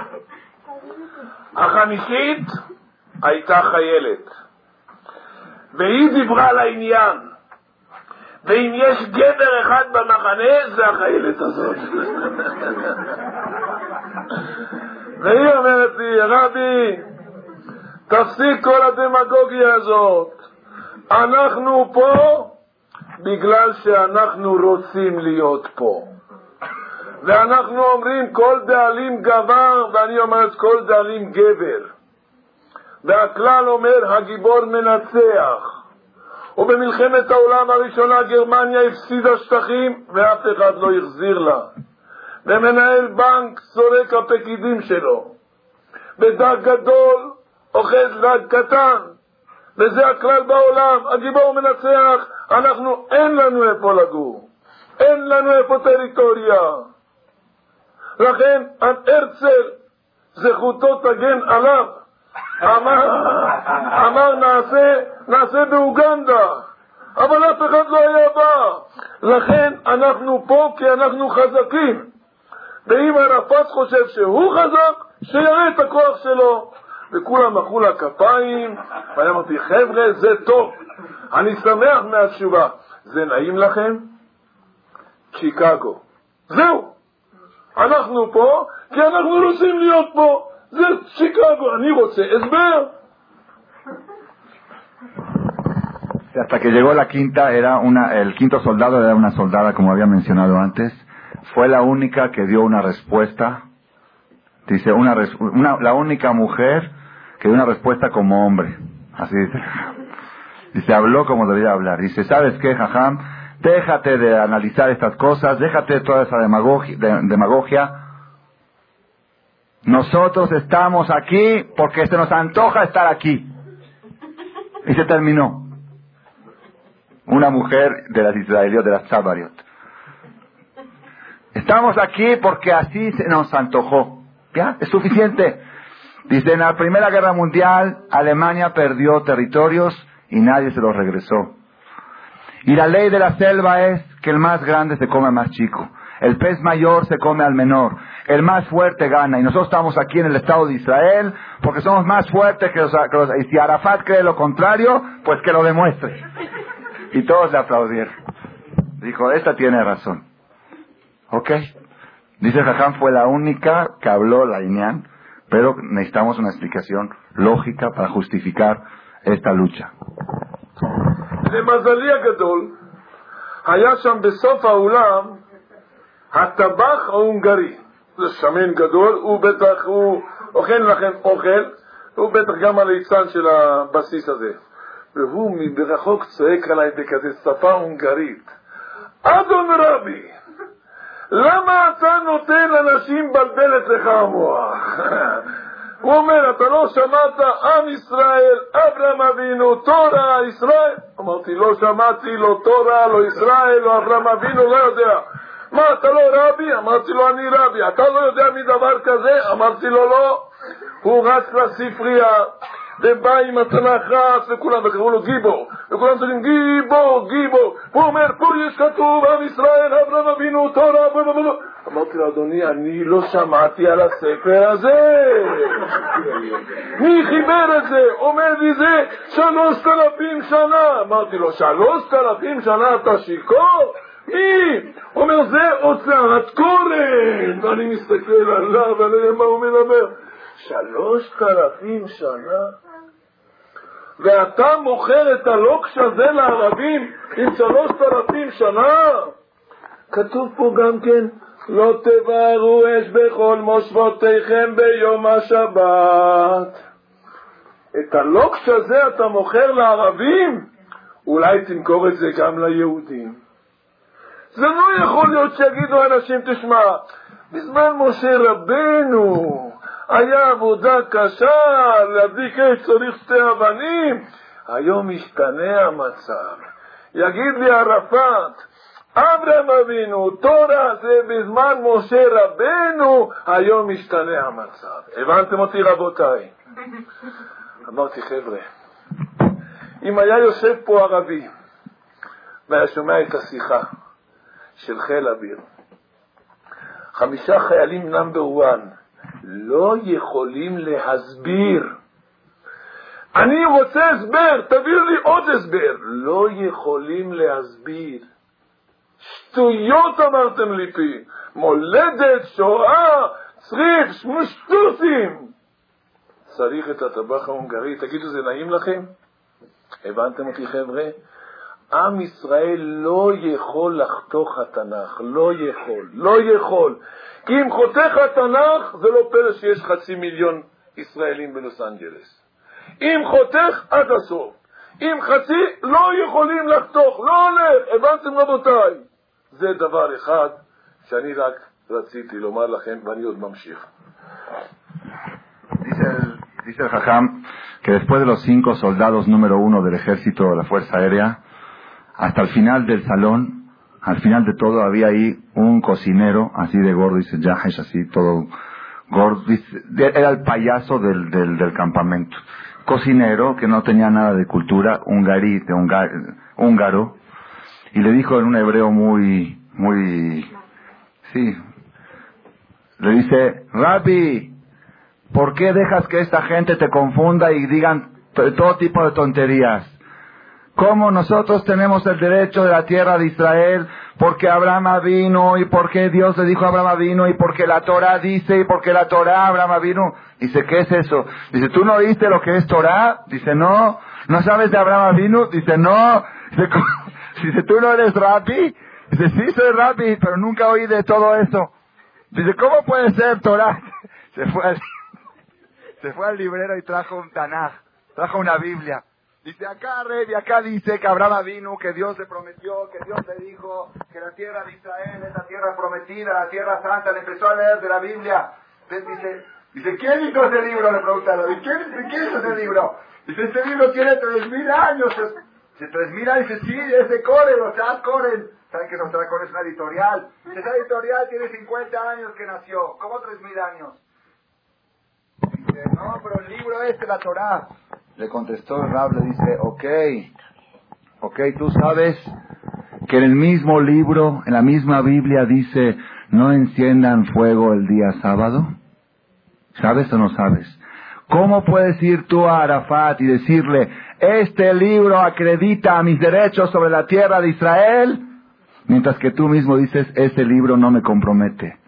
החמישית הייתה חיילת, והיא דיברה על העניין, ואם יש גבר אחד במחנה, זה החיילת הזאת. והיא אומרת לי, רבי, תפסיק כל הדמגוגיה הזאת. אנחנו פה בגלל שאנחנו רוצים להיות פה. ואנחנו אומרים כל דאלים גבר, ואני אומרת כל דאלים גבר. והכלל אומר הגיבור מנצח. ובמלחמת העולם הראשונה גרמניה הפסידה שטחים ואף אחד לא החזיר לה. ומנהל בנק זורק הפקידים שלו. בדג גדול אוחז דג קטן. וזה הכלל בעולם, הגיבור מנצח. אנחנו אין לנו איפה לגור, אין לנו איפה טריטוריה. לכן הרצל זכותו תגן עליו, אמר נעשה באוגנדה, אבל אף אחד לא היה בא. לכן אנחנו פה כי אנחנו חזקים, ואם ערפאת חושב שהוא חזק, שיראה את הכוח שלו. וכולם מחאו לה כפיים, ואני אמרתי, חבר'ה, זה טוב, אני שמח מהתשובה. זה נעים לכם? שיקגו. זהו, אנחנו פה כי אנחנו רוצים להיות פה. זה שיקגו, אני רוצה הסבר. Hasta que llegó la quinta, el quinto soldado era una soldada, como había mencionado antes. Fue la única que dio una respuesta. Dice, la única mujer que dio una respuesta como hombre. Así dice. Dice, habló como debía hablar. Dice, ¿sabes qué, Jajam? Déjate de analizar estas cosas, déjate de toda esa demagogia. nosotros estamos aquí porque se nos antoja estar aquí. Y se terminó. Una mujer de las israelíes, de las Tzabariot. Estamos aquí porque así se nos antojó. ¿Ya? Es suficiente. Dice, en la Primera Guerra Mundial, Alemania perdió territorios y nadie se los regresó. Y la ley de la selva es que el más grande se come al más chico. El pez mayor se come al menor. El más fuerte gana. Y nosotros estamos aquí en el Estado de Israel porque somos más fuertes que los... Y si Arafat cree lo contrario, pues que lo demuestre. Y todos le aplaudieron. Dijo, esta tiene razón. ¿Ok? Dice Jajam, fue la única que habló la Inyan, pero necesitamos una explicación lógica para justificar esta lucha. למזלי הגדול, היה שם בסוף האולם הטבח ההונגרי. זה שמן גדול, הוא בטח, הוא אוכל לכם אוכל, הוא בטח גם הליצן של הבסיס הזה. והוא מברחוק צועק עליי בכזה שפה הונגרית. אדון רבי, למה אתה נותן לאנשים בלבל אצלך המוח? הוא אומר, אתה לא שמעת עם ישראל, אברהם אבינו, תורה, ישראל? אמרתי, לא שמעתי, לא תורה, לא ישראל, לא אברהם אבינו, לא יודע. מה, אתה לא רבי? אמרתי לו, אני רבי. אתה לא יודע מדבר כזה? אמרתי לו, לא. הוא רץ לספרייה, ובא עם התנ"ך רץ, וכולם, וקראו לו גיבור, וכולם צודקים, גיבור, גיבור. הוא אומר, פה יש כתוב, עם ישראל, אברהם אבינו, תורה, בבבבב. אמרתי לו, אדוני, אני לא שמעתי על הספר הזה. מי חיבר את זה? אומר לי זה 3,000 שנה. אמרתי לו, 3,000 שנה אתה שיכור? מי? אומר, זה הוצאת קורן. ואני מסתכל עליו, ואני יודע מה הוא מדבר. 3,000 שנה? ואתה מוכר את הלוקש הזה לערבים עם 3,000 שנה? כתוב פה גם כן, לא תבערו אש בכל מושבותיכם ביום השבת. את הלוקש הזה אתה מוכר לערבים? אולי תמכור את זה גם ליהודים. זה לא יכול להיות שיגידו אנשים, תשמע, בזמן משה רבנו היה עבודה קשה, להדליק אש צריך 2 אבנים. היום משתנה המצב. יגיד לי ערפאת, אברהם אבינו, תורה זה בזמן משה רבנו, היום משתנה המצב. הבנתם אותי רבותיי? אמרתי, חבר'ה, אם היה יושב פה ערבי והיה שומע את השיחה של חיל אוויר, 5 חיילים נאמבר 1 לא יכולים להסביר. אני רוצה הסבר, תביא לי עוד הסבר. לא יכולים להסביר. שטויות אמרתם לי פי. מולדת, שואה, צריף, שטוסים. צריך את הטבח ההונגרי. תגידו, זה נעים לכם? הבנתם אותי חבר'ה? עם ישראל לא יכול לחתוך התנ"ך. לא יכול. לא יכול. כי אם חותך התנ"ך, זה לא פלא שיש 500,000 ישראלים בלוס אנג'לס. אם חותך עד הסוף. אם חצי, לא יכולים לחתוך. לא הולך. הבנתם רבותיי? זה דבר אחד שאני רק רציתי לומר לכם, ואני עוד ממשיך. Dice el Jajam que después de los 5 soldados número 1 del ejército de la Fuerza Aérea, hasta el final del salón, al final de todo, había ahí un cocinero, así de gordo, dice Yahesh, así todo gordo, dice, era el payaso del campamento. Cocinero que no tenía nada de cultura, húngaro, y le dijo en un hebreo muy, sí, le dice, Rabbi, ¿por qué dejas que esta gente te confunda y digan todo tipo de tonterías? ¿Cómo nosotros tenemos el derecho de la tierra de Israel? Porque Abraham vino, y porque Dios le dijo a Abraham vino, y porque la Torah dice, y porque la Torah Abraham vino. Dice, ¿qué es eso? Dice, ¿tú no oíste lo que es Torah? Dice, no. ¿No sabes de Abraham vino? Dice, no. Dice, ¿tú no eres rabbi? Dice, sí soy rabbi, pero nunca oí de todo eso. Dice, ¿cómo puede ser Torah? Se fue al librero y trajo un Tanaj, trajo una Biblia. Dice, acá, Rebi, acá dice que Abraham vino, que Dios le prometió, que Dios le dijo que la tierra de Israel es la tierra prometida, la tierra santa. Le empezó a leer de la Biblia. Entonces dice, Dice, ¿quién hizo ese libro? Le preguntaron. ¿Y quién hizo ese libro? Dice, este libro tiene 3.000 años. Dice, 3.000 años. Dice, sí, es de Corel, o sea, Corel. ¿Saben que Corel es una editorial? Esa editorial tiene 50 años que nació. ¿Cómo 3.000 años? Dice, no, pero el libro es la Torá. Le contestó el Rab, le dice, ok, tú sabes que en el mismo libro, en la misma Biblia dice, no enciendan fuego el día sábado. ¿Sabes o no sabes? ¿Cómo puedes ir tú a Arafat y decirle, este libro acredita mis derechos sobre la tierra de Israel? Mientras que tú mismo dices, ese libro no me compromete.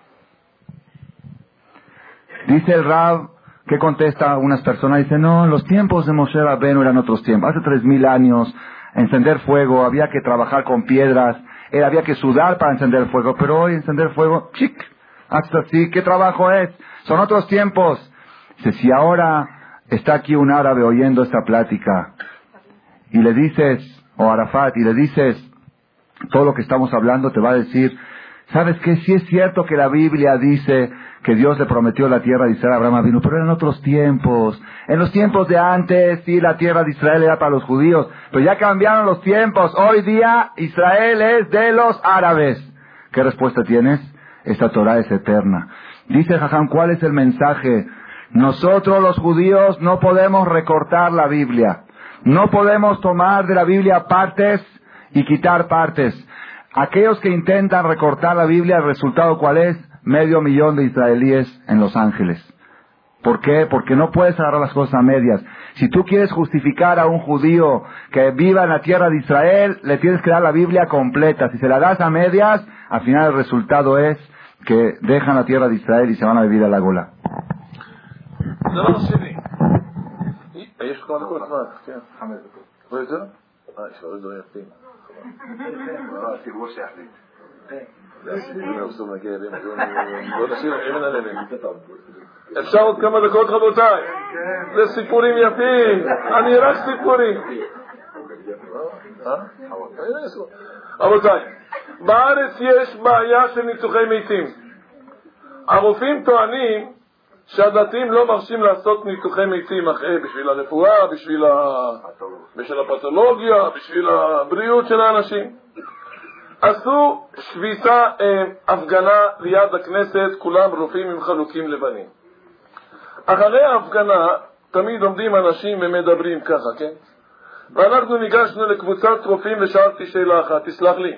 Dice el Rab, ¿qué contesta a unas personas? Dice, no, los tiempos de Moshe Rabbeinu eran otros tiempos. Hace 3.000 años, encender fuego, había que trabajar con piedras, había que sudar para encender fuego, pero hoy encender fuego, hasta así, ¿qué trabajo es? Son otros tiempos. Dice, si ahora está aquí un árabe oyendo esta plática, y le dices, o Arafat, y le dices todo lo que estamos hablando, te va a decir, ¿sabes qué? Sí es cierto que la Biblia dice que Dios le prometió la tierra de Israel a Abraham Avinu, pero eran otros tiempos. En los tiempos de antes, sí, la tierra de Israel era para los judíos, pero ya cambiaron los tiempos. Hoy día, Israel es de los árabes. ¿Qué respuesta tienes? Esta Torah es eterna. Dice Jajam, ¿cuál es el mensaje? Nosotros los judíos no podemos recortar la Biblia. No podemos tomar de la Biblia partes y quitar partes. Aquellos que intentan recortar la Biblia, ¿el resultado cuál es? 500,000 de israelíes en Los Ángeles. ¿Por qué? Porque no puedes agarrar las cosas a medias. Si tú quieres justificar a un judío que viva en la tierra de Israel, le tienes que dar la Biblia completa. Si se la das a medias, al final el resultado es que dejan la tierra de Israel y se van a vivir a la Gola. דבר שני, יש כמה דקות זמן, כן. 5 דקות. לא יותר? יש לו דברים יפים. הציבור שיחליט. בוא נשאיר אבן על אבן. אפשר עוד כמה דקות רבותיי? זה סיפורים יפים, אני רק סיפורים. רבותיי, בארץ יש בעיה של ניתוחי מתים. הרופאים טוענים שהדתיים לא מרשים לעשות ניתוחי מתים בשביל הרפואה, בשביל הפתולוגיה, בשביל הבריאות של האנשים. עשו שביתה, הפגנה ליד הכנסת, כולם רופאים עם חלוקים לבנים. אחרי ההפגנה תמיד עומדים אנשים ומדברים ככה, כן? ואנחנו ניגשנו לקבוצת רופאים ושאלתי שאלה אחת, תסלח לי.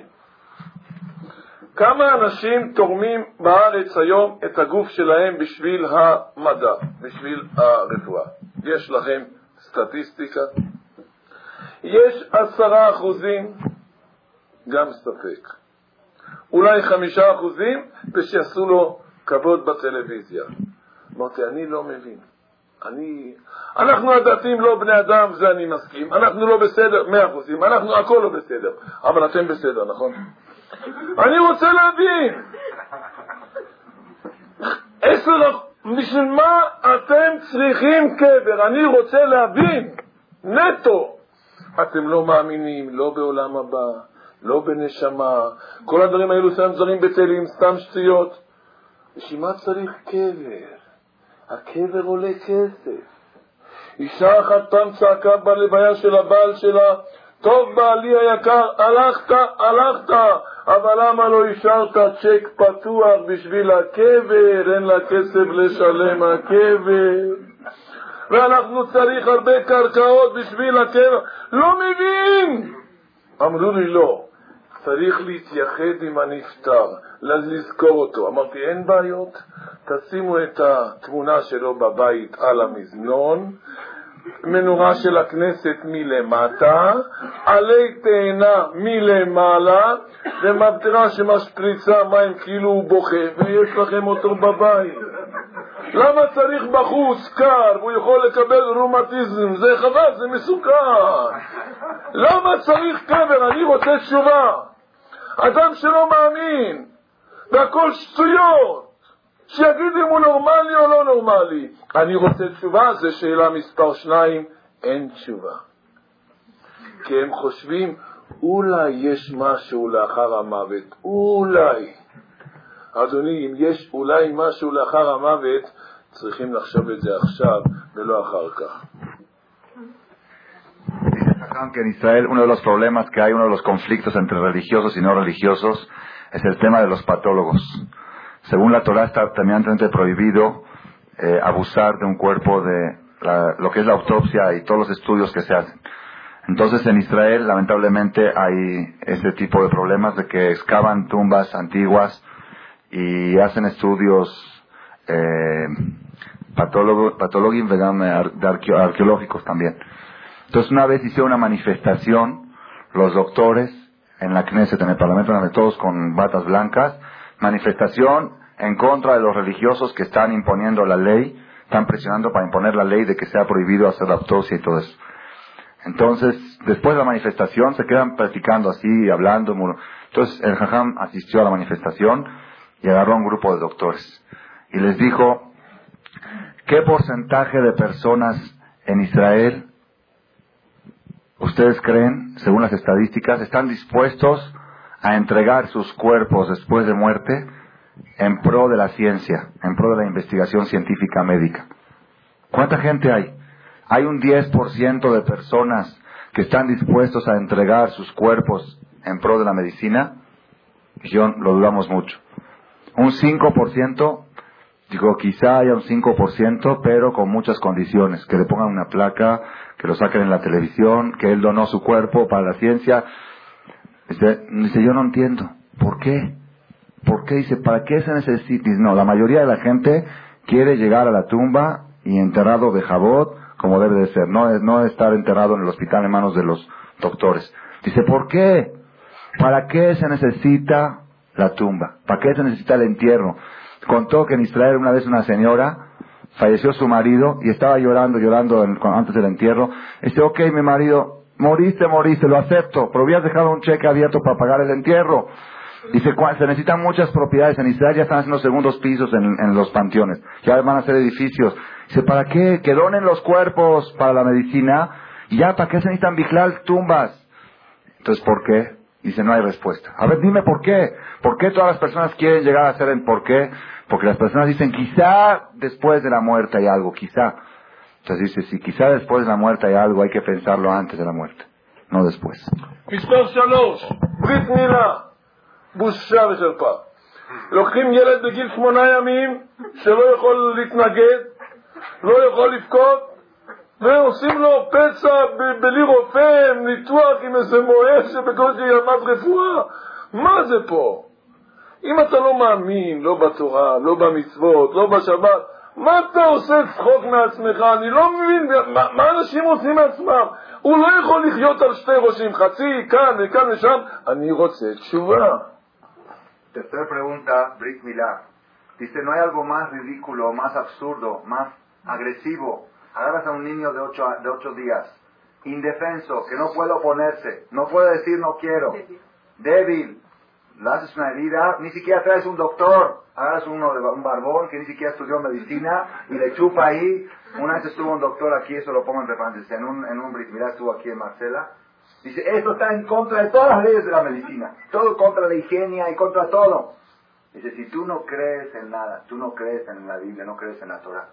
כמה אנשים תורמים בארץ היום את הגוף שלהם בשביל המדע, בשביל הרפואה? יש לכם סטטיסטיקה? יש 10%, גם ספק. אולי 5%, ושיעשו לו כבוד בטלוויזיה. אמרתי, אני לא מבין. אנחנו הדתיים לא בני אדם, זה אני מסכים. אנחנו לא בסדר, 100%. אנחנו הכל לא בסדר. אבל אתם בסדר, נכון? אני רוצה להבין. בשביל מה אתם צריכים קבר? אני רוצה להבין. נטו. אתם לא מאמינים, לא בעולם הבא, לא בנשמה. כל הדברים האלו סתם דברים בטלים, סתם שטויות. בשביל מה צריך קבר? הקבר עולה כסף. אישה אחת פעם צעקה בלוויה של הבעל שלה, טוב בעלי היקר, הלכת, אבל למה לא השארת צ'ק פתוח בשביל הקבר? אין לה כסף לשלם הקבר. ואנחנו צריך הרבה קרקעות בשביל הקבר. לא מבין! אמרו לי לא, צריך להתייחד עם הנפטר, לזכור אותו. אמרתי, אין בעיות, תשימו את התמונה שלו בבית על המזנון, מנורה של הכנסת מלמטה, עלי תאנה מלמעלה, ומבטרה שמשפריצה מים כאילו הוא בוכה, ויש לכם אותו בבית. למה צריך בחוץ קר, והוא יכול לקבל רומטיזם? זה חבל, זה מסוכן. למה צריך קבר? אני רוצה תשובה. אדם שלא מאמין, והכל שטויות, שיגיד אם הוא נורמלי או לא נורמלי. אני רוצה תשובה, זה שאלה מספר 2, אין תשובה. כי הם חושבים, אולי יש משהו לאחר המוות, אולי. אדוני, אם יש אולי משהו לאחר המוות, צריכים לחשוב את זה עכשיו ולא אחר כך. Que en Israel uno de los problemas que hay, uno de los conflictos entre religiosos y no religiosos, es el tema de los patólogos. Según la Torah está terminantemente prohibido abusar de un cuerpo, de lo que es la autopsia y todos los estudios que se hacen. Entonces en Israel lamentablemente hay ese tipo de problemas de que excavan tumbas antiguas y hacen estudios arqueológicos también. Entonces una vez hicieron una manifestación los doctores en la Knesset, en el Parlamento, todos con batas blancas, manifestación en contra de los religiosos que están imponiendo la ley, están presionando para imponer la ley de que sea prohibido hacer la autopsia y todo eso. Entonces, después de la manifestación, se quedan platicando así, hablando. Entonces, el Jajam asistió a la manifestación y agarró a un grupo de doctores. Y les dijo, ¿qué porcentaje de personas en Israel, ustedes creen, según las estadísticas, están dispuestos a entregar sus cuerpos después de muerte en pro de la ciencia, en pro de la investigación científica médica? ¿Cuánta gente hay? ¿Hay un 10% de personas que están dispuestos a entregar sus cuerpos en pro de la medicina? Dijeron, lo dudamos mucho. ¿Un 5%? Digo, quizá haya un 5%, pero con muchas condiciones. Que le pongan una placa, que lo saquen en la televisión, que él donó su cuerpo para la ciencia. Dice, yo no entiendo. ¿Por qué? ¿Por qué? Dice, ¿para qué se necesita? Dice, no, la mayoría de la gente quiere llegar a la tumba y enterrado de jabot, como debe de ser. No estar enterrado en el hospital en manos de los doctores. Dice, ¿por qué? ¿Para qué se necesita la tumba? ¿Para qué se necesita el entierro? Contó que en Israel una vez una señora falleció su marido y estaba llorando antes del entierro. Dice, ok, mi marido, moriste, lo acepto, pero hubieras dejado un cheque abierto para pagar el entierro. Dice, se necesitan muchas propiedades. En Israel ya están haciendo segundos pisos en los panteones. Ya van a hacer edificios. Dice, ¿para qué? Que donen los cuerpos para la medicina. Y ya, ¿para qué se necesitan vigilar tumbas? Entonces, ¿por qué? Dice, no hay respuesta. A ver, dime por qué. ¿Por qué todas las personas quieren llegar a hacer el por qué? Porque las personas dicen, quizá después de la muerte hay algo, quizá. Entonces dice, si quizá después de la muerte hay algo, hay que pensarlo antes de la muerte, no después. מספר 3, ברית מילה, בושה וחרפה. לוקחים ילד בגיל 8 ימים, שלא יכול להתנגד, לא יכול לבכות, ועושים לו פצע בלי רופא, ניתוח עם איזה מוהר שבקושי ילמד רפואה. מה זה פה? אם אתה לא מאמין, לא בתורה, לא במצוות, לא בשבת, מה אתה עושה צחוק מעצמך? אני לא מבין, מה אנשים עושים מעצמם? הוא לא יכול לחיות על שתי ראשים, חצי, כאן וכאן ושם. אני רוצה תשובה. Tercera pregunta, Brit Milá. Dice, ¿no hay algo más ridículo, más absurdo, más agresivo? Agarras a un niño de 8 días, indefenso, que no puede oponerse, no puede decir no quiero, débil. Le haces una herida, ni siquiera traes un doctor, agarras un barbón que ni siquiera estudió medicina y le chupa ahí. Una vez estuvo un doctor aquí, eso lo pongo en referencia, en un Brit Milá estuvo aquí en Marcela. Dice, esto está en contra de todas las leyes de la medicina, todo contra la higiene y contra todo. Dice, si tú no crees en nada, tú no crees en la Biblia, no crees en la Torah,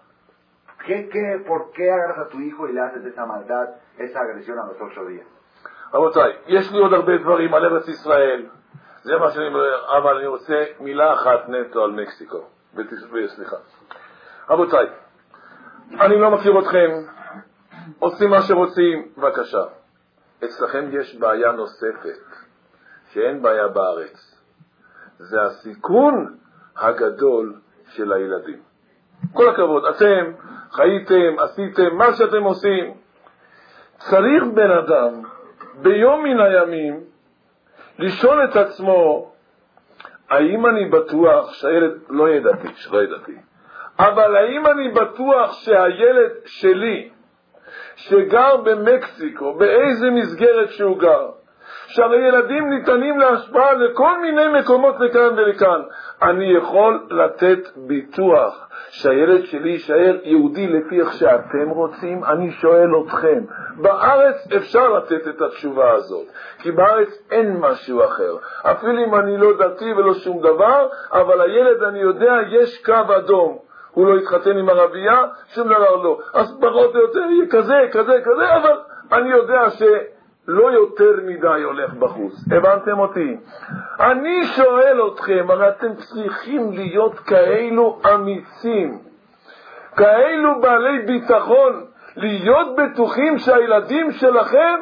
¿por qué agarras a tu hijo y le haces esa maldad, esa agresión a los 8 días? רבותיי, יש לי עוד הרבה דברים על ארץ ישראל. זה מה שאני אומר, אבל אני רוצה מילה אחת נטו על מקסיקו. סליחה. רבותיי, אני לא מכיר אתכם, עושים מה שרוצים, בבקשה. אצלכם יש בעיה נוספת, שאין בעיה בארץ. זה הסיכון הגדול של הילדים. כל הכבוד, אתם חייתם, עשיתם מה שאתם עושים. צריך בן אדם ביום מן הימים לשאול את עצמו, האם אני בטוח שהילד, לא ידעתי, אבל האם אני בטוח שהילד שלי, שגר במקסיקו, באיזה מסגרת שהוא גר, שהרי ילדים ניתנים להשפעה לכל מיני מקומות לכאן ולכאן, אני יכול לתת ביטוח שהילד שלי יישאר יהודי לפי איך שאתם רוצים? אני שואל אתכם, בארץ אפשר לתת את התשובה הזאת, כי בארץ אין משהו אחר, אפילו אם אני לא דתי ולא שום דבר, אבל הילד, אני יודע, יש קו אדום, הוא לא יתחתן עם ערבייה, שום דבר לא. אז פחות או יותר יהיה כזה, אבל אני יודע שלא יותר מדי הולך בחוץ. הבנתם אותי? אני שואל אתכם, הרי אתם צריכים להיות כאלו אמיצים, כאלו בעלי ביטחון, להיות בטוחים שהילדים שלכם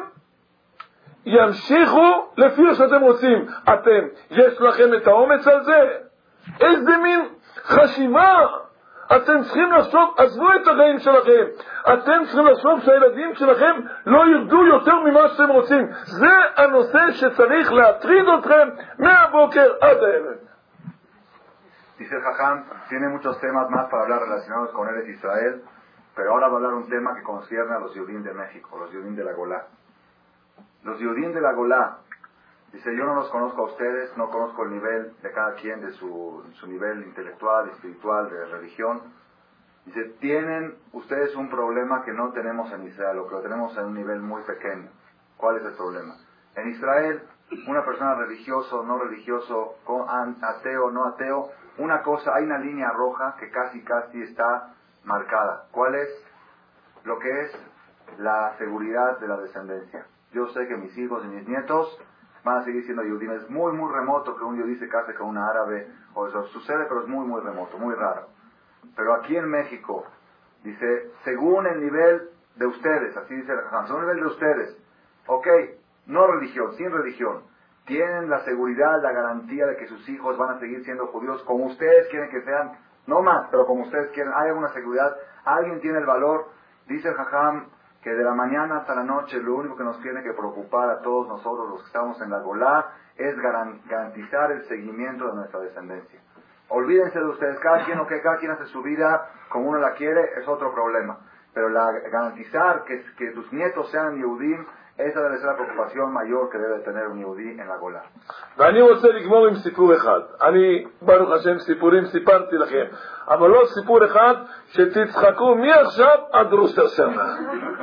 ימשיכו לפי שאתם רוצים. אתם, יש לכם את האומץ על זה? איזה מין חשיבה? אתם צריכים לחשוב, עזבו את החיים שלכם, אתם צריכים לחשוב שהילדים שלכם לא ירדו יותר ממה שאתם רוצים. זה הנושא שצריך להטריד אתכם מהבוקר עד הערב. Dice el Jajam, tiene muchos temas más para hablar relacionados con Eretz Israel, pero ahora va a hablar un tema que concierne a los Yehudim de México, los Yehudim de la Golá. Los Yehudim de la Golá, dice, yo no los conozco a ustedes, no conozco el nivel de cada quien, de su nivel intelectual, espiritual, de religión. Dice, tienen ustedes un problema que no tenemos en Israel, o que lo tenemos en un nivel muy pequeño. ¿Cuál es el problema? En Israel, una persona religioso, no religioso, ateo, no ateo, una cosa, hay una línea roja que casi está marcada. ¿Cuál es? Lo que es la seguridad de la descendencia. Yo sé que mis hijos y mis nietos van a seguir siendo Yehudim. Es muy, muy remoto que un Yehudí se case con una árabe, o eso sucede, pero es muy, muy remoto, muy raro. Pero aquí en México, dice, según el nivel de ustedes, así dice el Jajam, según el nivel de ustedes, ok, no religión, sin religión, tienen la seguridad, la garantía de que sus hijos van a seguir siendo judíos como ustedes quieren que sean, no más, pero como ustedes quieren, hay alguna seguridad, alguien tiene el valor, dice el Jajam, que de la mañana hasta la noche lo único que nos tiene que preocupar a todos nosotros los que estamos en la Golá es garantizar el seguimiento de nuestra descendencia. Olvídense de ustedes, cada quien hace su vida como uno la quiere, es otro problema. Pero garantizar que tus nietos sean Yehudim, esa debe ser la preocupación mayor que debe tener un Yehudí en la Golá. ואני רוצה לגמור עם סיפור אחד. אני, ברוך השם, סיפורים סיפרתי לכם, אבל לא סיפור אחד שתצחקו מעכשיו עד ראש השנה.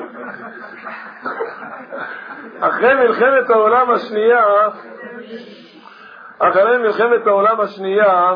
אחרי מלחמת העולם השנייה,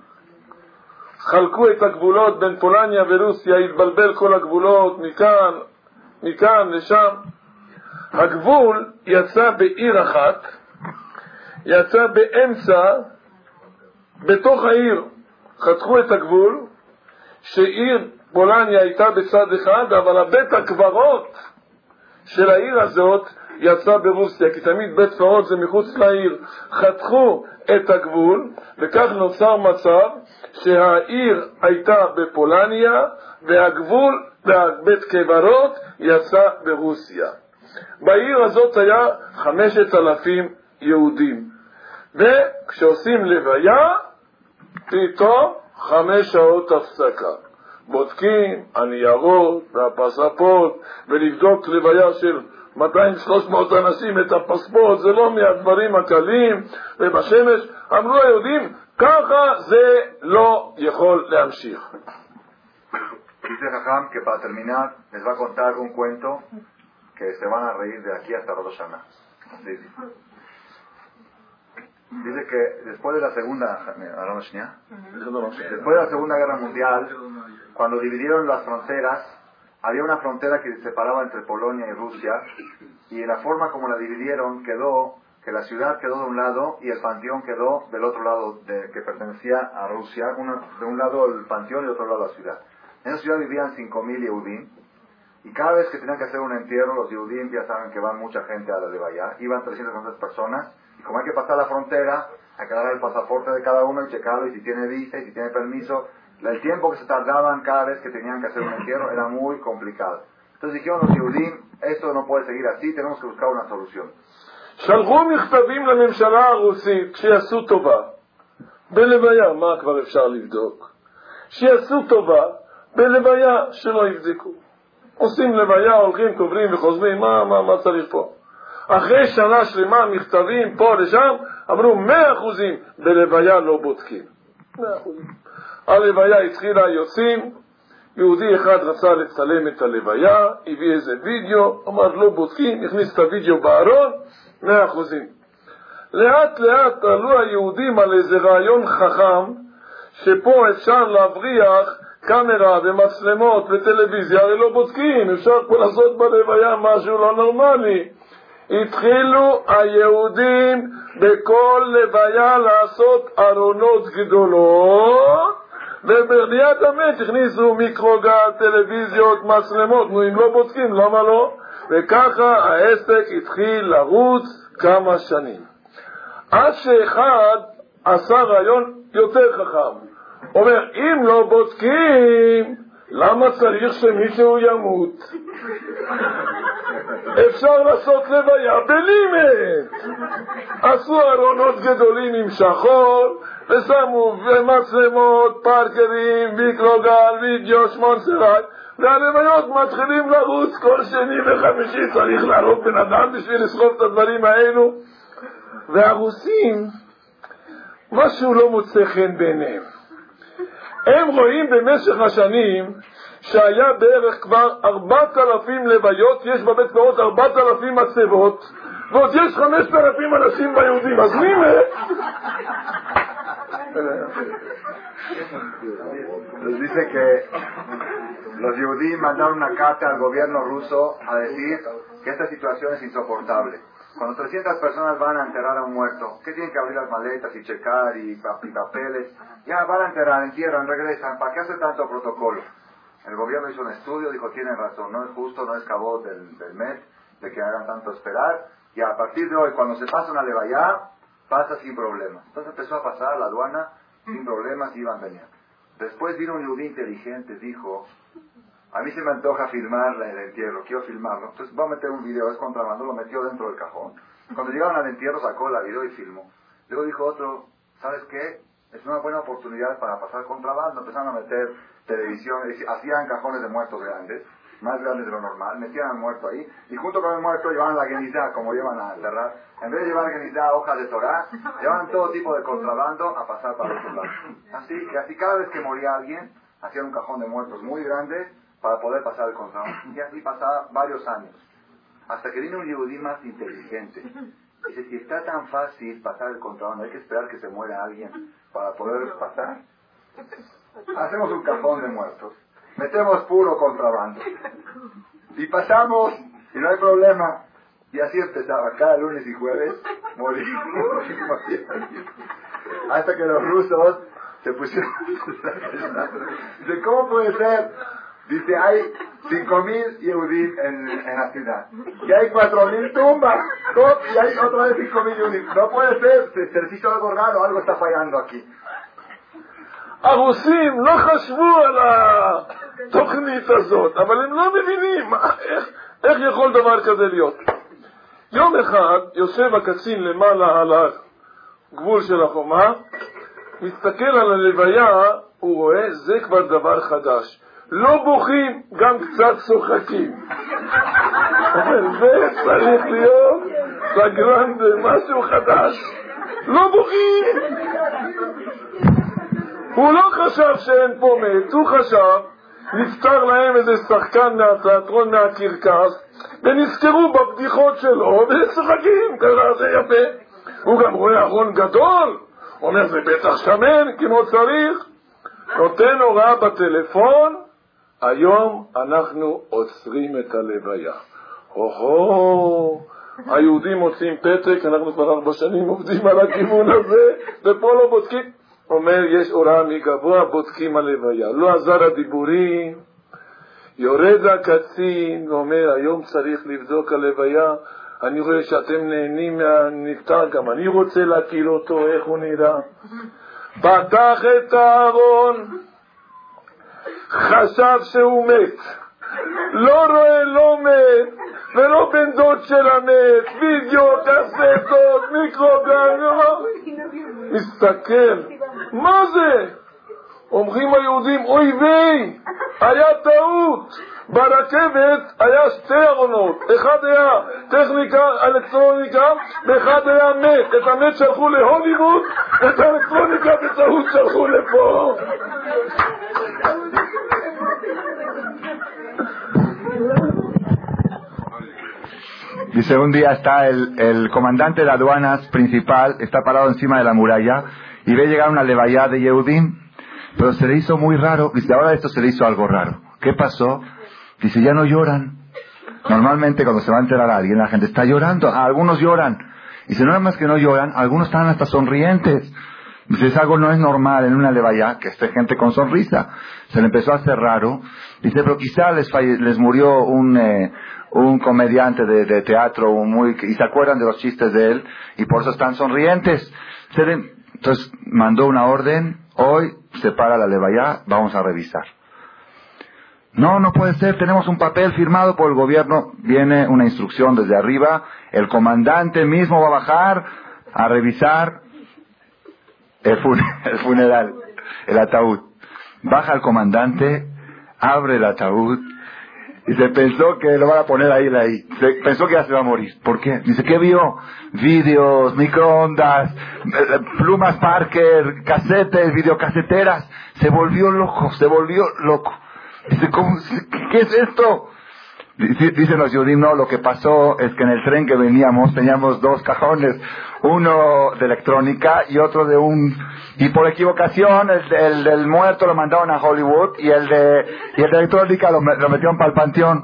חלקו את הגבולות בין פולניה ורוסיה, התבלבל כל הגבולות מכאן לשם. הגבול יצא בעיר אחת, יצא באמצע, בתוך העיר חתכו את הגבול, שעיר פולניה הייתה בצד אחד, אבל הבית הקברות של העיר הזאת יצא ברוסיה, כי תמיד בית קברות זה מחוץ לעיר. חתכו את הגבול, וכך נוצר מצב שהעיר הייתה בפולניה, והגבול והבית קברות יצא ברוסיה. בעיר הזאת היה 5,000 יהודים, וכשעושים לוויה פתאום 5 שעות הפסקה, בודקים הניירות והפספורט, ולבדוק לוויה של 200-300 אנשים את הפספורט, זה לא מהדברים הקלים, ובשמש אמרו היהודים, ככה זה לא יכול להמשיך. Dice Jajam que para terminar les va a contar un cuento que se van a reír de aquí hasta Rosh Hashanah. Dice que después de la Segunda Guerra Mundial, cuando dividieron las fronteras, había una frontera que se separaba entre Polonia y Rusia, y la forma como la dividieron quedó que la ciudad quedó de un lado y el panteón quedó del otro lado, que pertenecía a Rusia, de un lado el panteón y de otro lado la ciudad. En esa ciudad vivían 5,000 Yehudim, y cada vez que tenían que hacer un entierro, los Yehudim ya saben que van mucha gente a la Levaya, iban 300 personas, y como hay que pasar la frontera, hay que agarrar el pasaporte de cada uno y checarlo, y si tiene visa, y si tiene permiso. El tiempo que se tardaban cada vez que tenían que hacer un entierro era muy complicado. Entonces dijeron los Yehudim, esto no puede seguir así, tenemos que buscar una solución. שלחו מכתבים לממשלה הרוסית שיעשו טובה בלוויה, מה כבר אפשר לבדוק? שיעשו טובה בלוויה, שלא יבדקו. עושים לוויה, הולכים, קוברים וחוזרים, מה צריך פה? אחרי שנה שלמה מכתבים פה לשם, אמרו 100% בלוויה לא בודקים. 100%. הלוויה התחילה, יוצאים, יהודי אחד רצה לצלם את הלוויה, הביא איזה וידאו, אמר לא בודקים, הכניס את הוידאו בארון, 100%. לאט לאט עלו היהודים על איזה רעיון חכם, שפה אפשר להבריח קאמרה ומצלמות וטלוויזיה, הרי לא בודקים, אפשר פה לעשות בלוויה משהו לא נורמלי. התחילו היהודים בכל לוויה לעשות ארונות גדולות, וברדיעת המת הכניסו מיקרוגל, טלוויזיות, מצלמות. נו, אם לא בודקים, למה לא? וככה העסק התחיל לרוץ כמה שנים. עד שאחד עשה רעיון יותר חכם. אומר, אם לא בודקים, למה צריך שמישהו ימות? אפשר לעשות לוויה בלימט. עשו ארונות גדולים עם שחור, ושמו מצלמות, פארקרים, מיקרוגל, וידאו, שמונסרט, והלוויות מתחילים לרוץ כל שני וחמישי. צריך להרוג בן אדם בשביל לסחוב את הדברים האלו. והרוסים, משהו לא מוצא חן בעיניהם. הם רואים במשך השנים שהיה בערך כבר 4,000 לוויות, יש בבית קברות 4,000 מצבות, ועוד יש 5,000 אנשים ביהודים. אז מי מת? Les dice que los judíos mandaron una carta al gobierno ruso a decir que esta situación es insoportable. Cuando 300 personas van a enterrar a un muerto, ¿qué tienen que abrir las maletas y checar y papeles? Ya van a enterrar, entierran, regresan. ¿Para qué hacer tanto protocolo? El gobierno hizo un estudio, dijo, tienen razón, no es justo, no es cabot del mes, de que hagan tanto esperar. Y a partir de hoy, cuando se pasa una levaya, pasa sin problemas. Entonces empezó a pasar la aduana sin problemas, iban, venían. Después vino un judío inteligente, dijo, a mí se me antoja filmar el entierro, quiero filmarlo. Entonces voy a meter un video, es contrabando, lo metió dentro del cajón. Cuando llegaron al entierro sacó la video y filmó. Luego dijo otro, ¿sabes qué? Es una buena oportunidad para pasar contrabando. Empezaron a meter televisión, hacían cajones de muertos grandes, más grandes de lo normal, metían al muerto ahí, y junto con el muerto llevaban la genizá, como llevan a enterrar. En vez de llevar genizá, hojas de Torah, llevaban todo tipo de contrabando a pasar para otro lado. Así cada vez que moría alguien, hacían un cajón de muertos muy grande para poder pasar el contrabando. Y así pasaba varios años. Hasta que vino un yehudí más inteligente. Dice, si está tan fácil pasar el contrabando, hay que esperar que se muera alguien para poder pasar. Hacemos un cajón de muertos, metemos puro contrabando y pasamos y no hay problema. Y así empezaba, cada lunes y jueves morir. Hasta que los rusos se pusieron. Dice, ¿cómo puede ser? Dice, hay 5,000 Yehudim en la ciudad y hay 4,000 tumbas y hay otra vez 5,000 Yehudim. No puede ser, se les hizo algo raro, algo está fallando aquí. הרוסים לא חשבו על התוכנית הזאת, אבל הם לא מבינים איך יכול דבר כזה להיות. יום אחד יושב הקצין למעלה על הגבול של החומה, מסתכל על הלוויה, הוא רואה, זה כבר דבר חדש. לא בוכים, גם קצת צוחקים. זה צריך להיות סגרן במשהו חדש. לא בוכים. הוא לא חשב שאין פה מת, הוא חשב, נפטר להם איזה שחקן מהתיאטרון מהקרקס, ונזכרו בבדיחות שלו, ושחקים, ככה זה יפה. הוא גם רואה ארון גדול, אומר זה בטח שמן, כמו צריך, נותן הוראה בטלפון, היום אנחנו עוצרים את הלוויה. היהודים מוצאים פתק, אנחנו כבר 4 שנים עובדים על הכיוון הזה, ופה לא בודקים. אומר, יש הוראה מגבוה, בודקים הלוויה. לא עזר הדיבורים, יורד הקצין, ואומר, היום צריך לבדוק הלוויה, אני רואה שאתם נהנים מהנפטר, גם אני רוצה להכיר אותו, איך הוא נראה. פתח את הארון, חשב שהוא מת, לא רואה, לא מת, ולא בן דוד של המת, וידאו, קסטות, מיקרוגל, מסתכל, מה זה? אומרים היהודים, אוי ויי, היה טעות, ברכבת היה 2 ארונות, אחד היה טכניקה, אלקטרוניקה, ואחד היה מת, את המת שלחו להוליווד, את האלקטרוניקה בטעות שלחו לפה. Dice, un día está el comandante de aduanas principal, está parado encima de la muralla y ve llegar una levaya de Yehudim. Pero se le hizo muy raro. Dice, ahora esto se le hizo algo raro. ¿Qué pasó? Dice, ya no lloran. Normalmente cuando se va a enterar a alguien, la gente está llorando. Algunos lloran. Dice, no nada más que no lloran, algunos están hasta sonrientes. Dice, es algo no es normal en una levaya que esté gente con sonrisa. Se le empezó a hacer raro. Dice, pero quizá les murió un comediante de teatro y se acuerdan de los chistes de él y por eso están sonrientes. Entonces mandó una orden, hoy se para la levaya, vamos a revisar. No puede ser, tenemos un papel firmado por el gobierno, viene una instrucción desde arriba, el comandante mismo va a bajar a revisar el funeral, el ataúd. Baja el comandante, abre el ataúd y se pensó que lo van a poner ahí. Pensó que ya se va a morir. ¿Por qué? Dice, ¿qué vio? Vídeos, microondas, plumas Parker, casetes, videocaseteras. Se volvió loco. Dice, ¿qué es esto? Dicen los judíos, no, lo que pasó es que en el tren que veníamos teníamos 2 cajones, uno de electrónica y otro y por equivocación el del muerto lo mandaron a Hollywood y el de electrónica lo metieron para el panteón.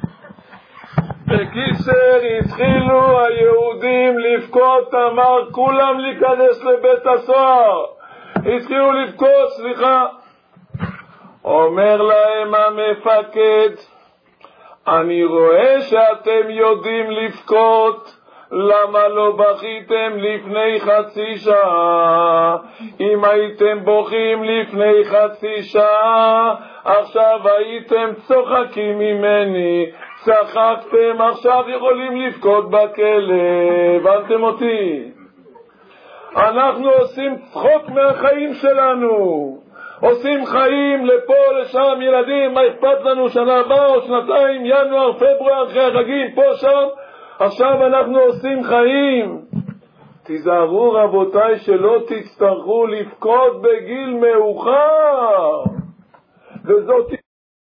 בקיצר התחילו היהודים לבכות, אמר כולם להיכנס לבית הסוהר, התחילו לבכות, סליחה, אומר להם המפקד, אני רואה שאתם יודעים לבכות, למה לא בכיתם לפני חצי שעה? אם הייתם בוכים לפני חצי שעה, עכשיו הייתם צוחקים ממני, צחקתם, עכשיו יכולים לבכות בכלא. הבנתם אותי? אנחנו עושים צחוק מהחיים שלנו, עושים חיים לפה לשם, ילדים, מה אכפת לנו, שנה הבאה או שנתיים, ינואר, פברואר, אחרי החגים, פה שם, עכשיו אנחנו עושים חיים. תיזהרו רבותיי שלא תצטרכו לבכות בגיל מאוחר. וזאת...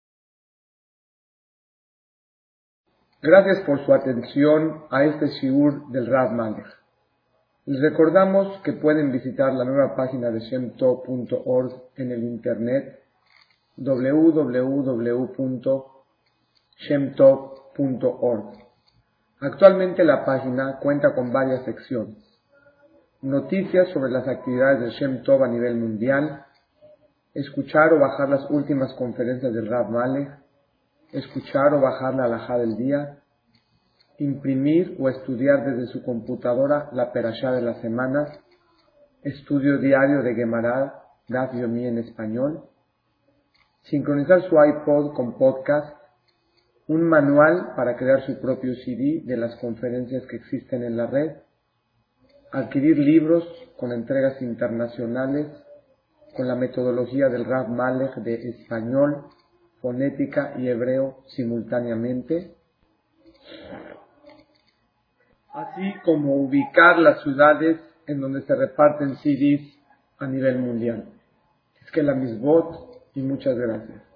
Gracias por su atención a este shiur del Rav Malech. Les recordamos que pueden visitar la nueva página de shemtov.org en el internet www.shemtov.org. Actualmente la página cuenta con varias secciones: noticias sobre las actividades de Shem Tov a nivel mundial, escuchar o bajar las últimas conferencias del Rav Malech, escuchar o bajar la halajá del día, imprimir o estudiar desde su computadora la perashá de la semana, estudio diario de Gemara, Daf Yomi en español, sincronizar su iPod con podcast, un manual para crear su propio CD de las conferencias que existen en la red, adquirir libros con entregas internacionales con la metodología del Rav Malech de español, fonética y hebreo simultáneamente, así como ubicar las ciudades en donde se reparten CDs a nivel mundial. Es que la misbot y muchas gracias.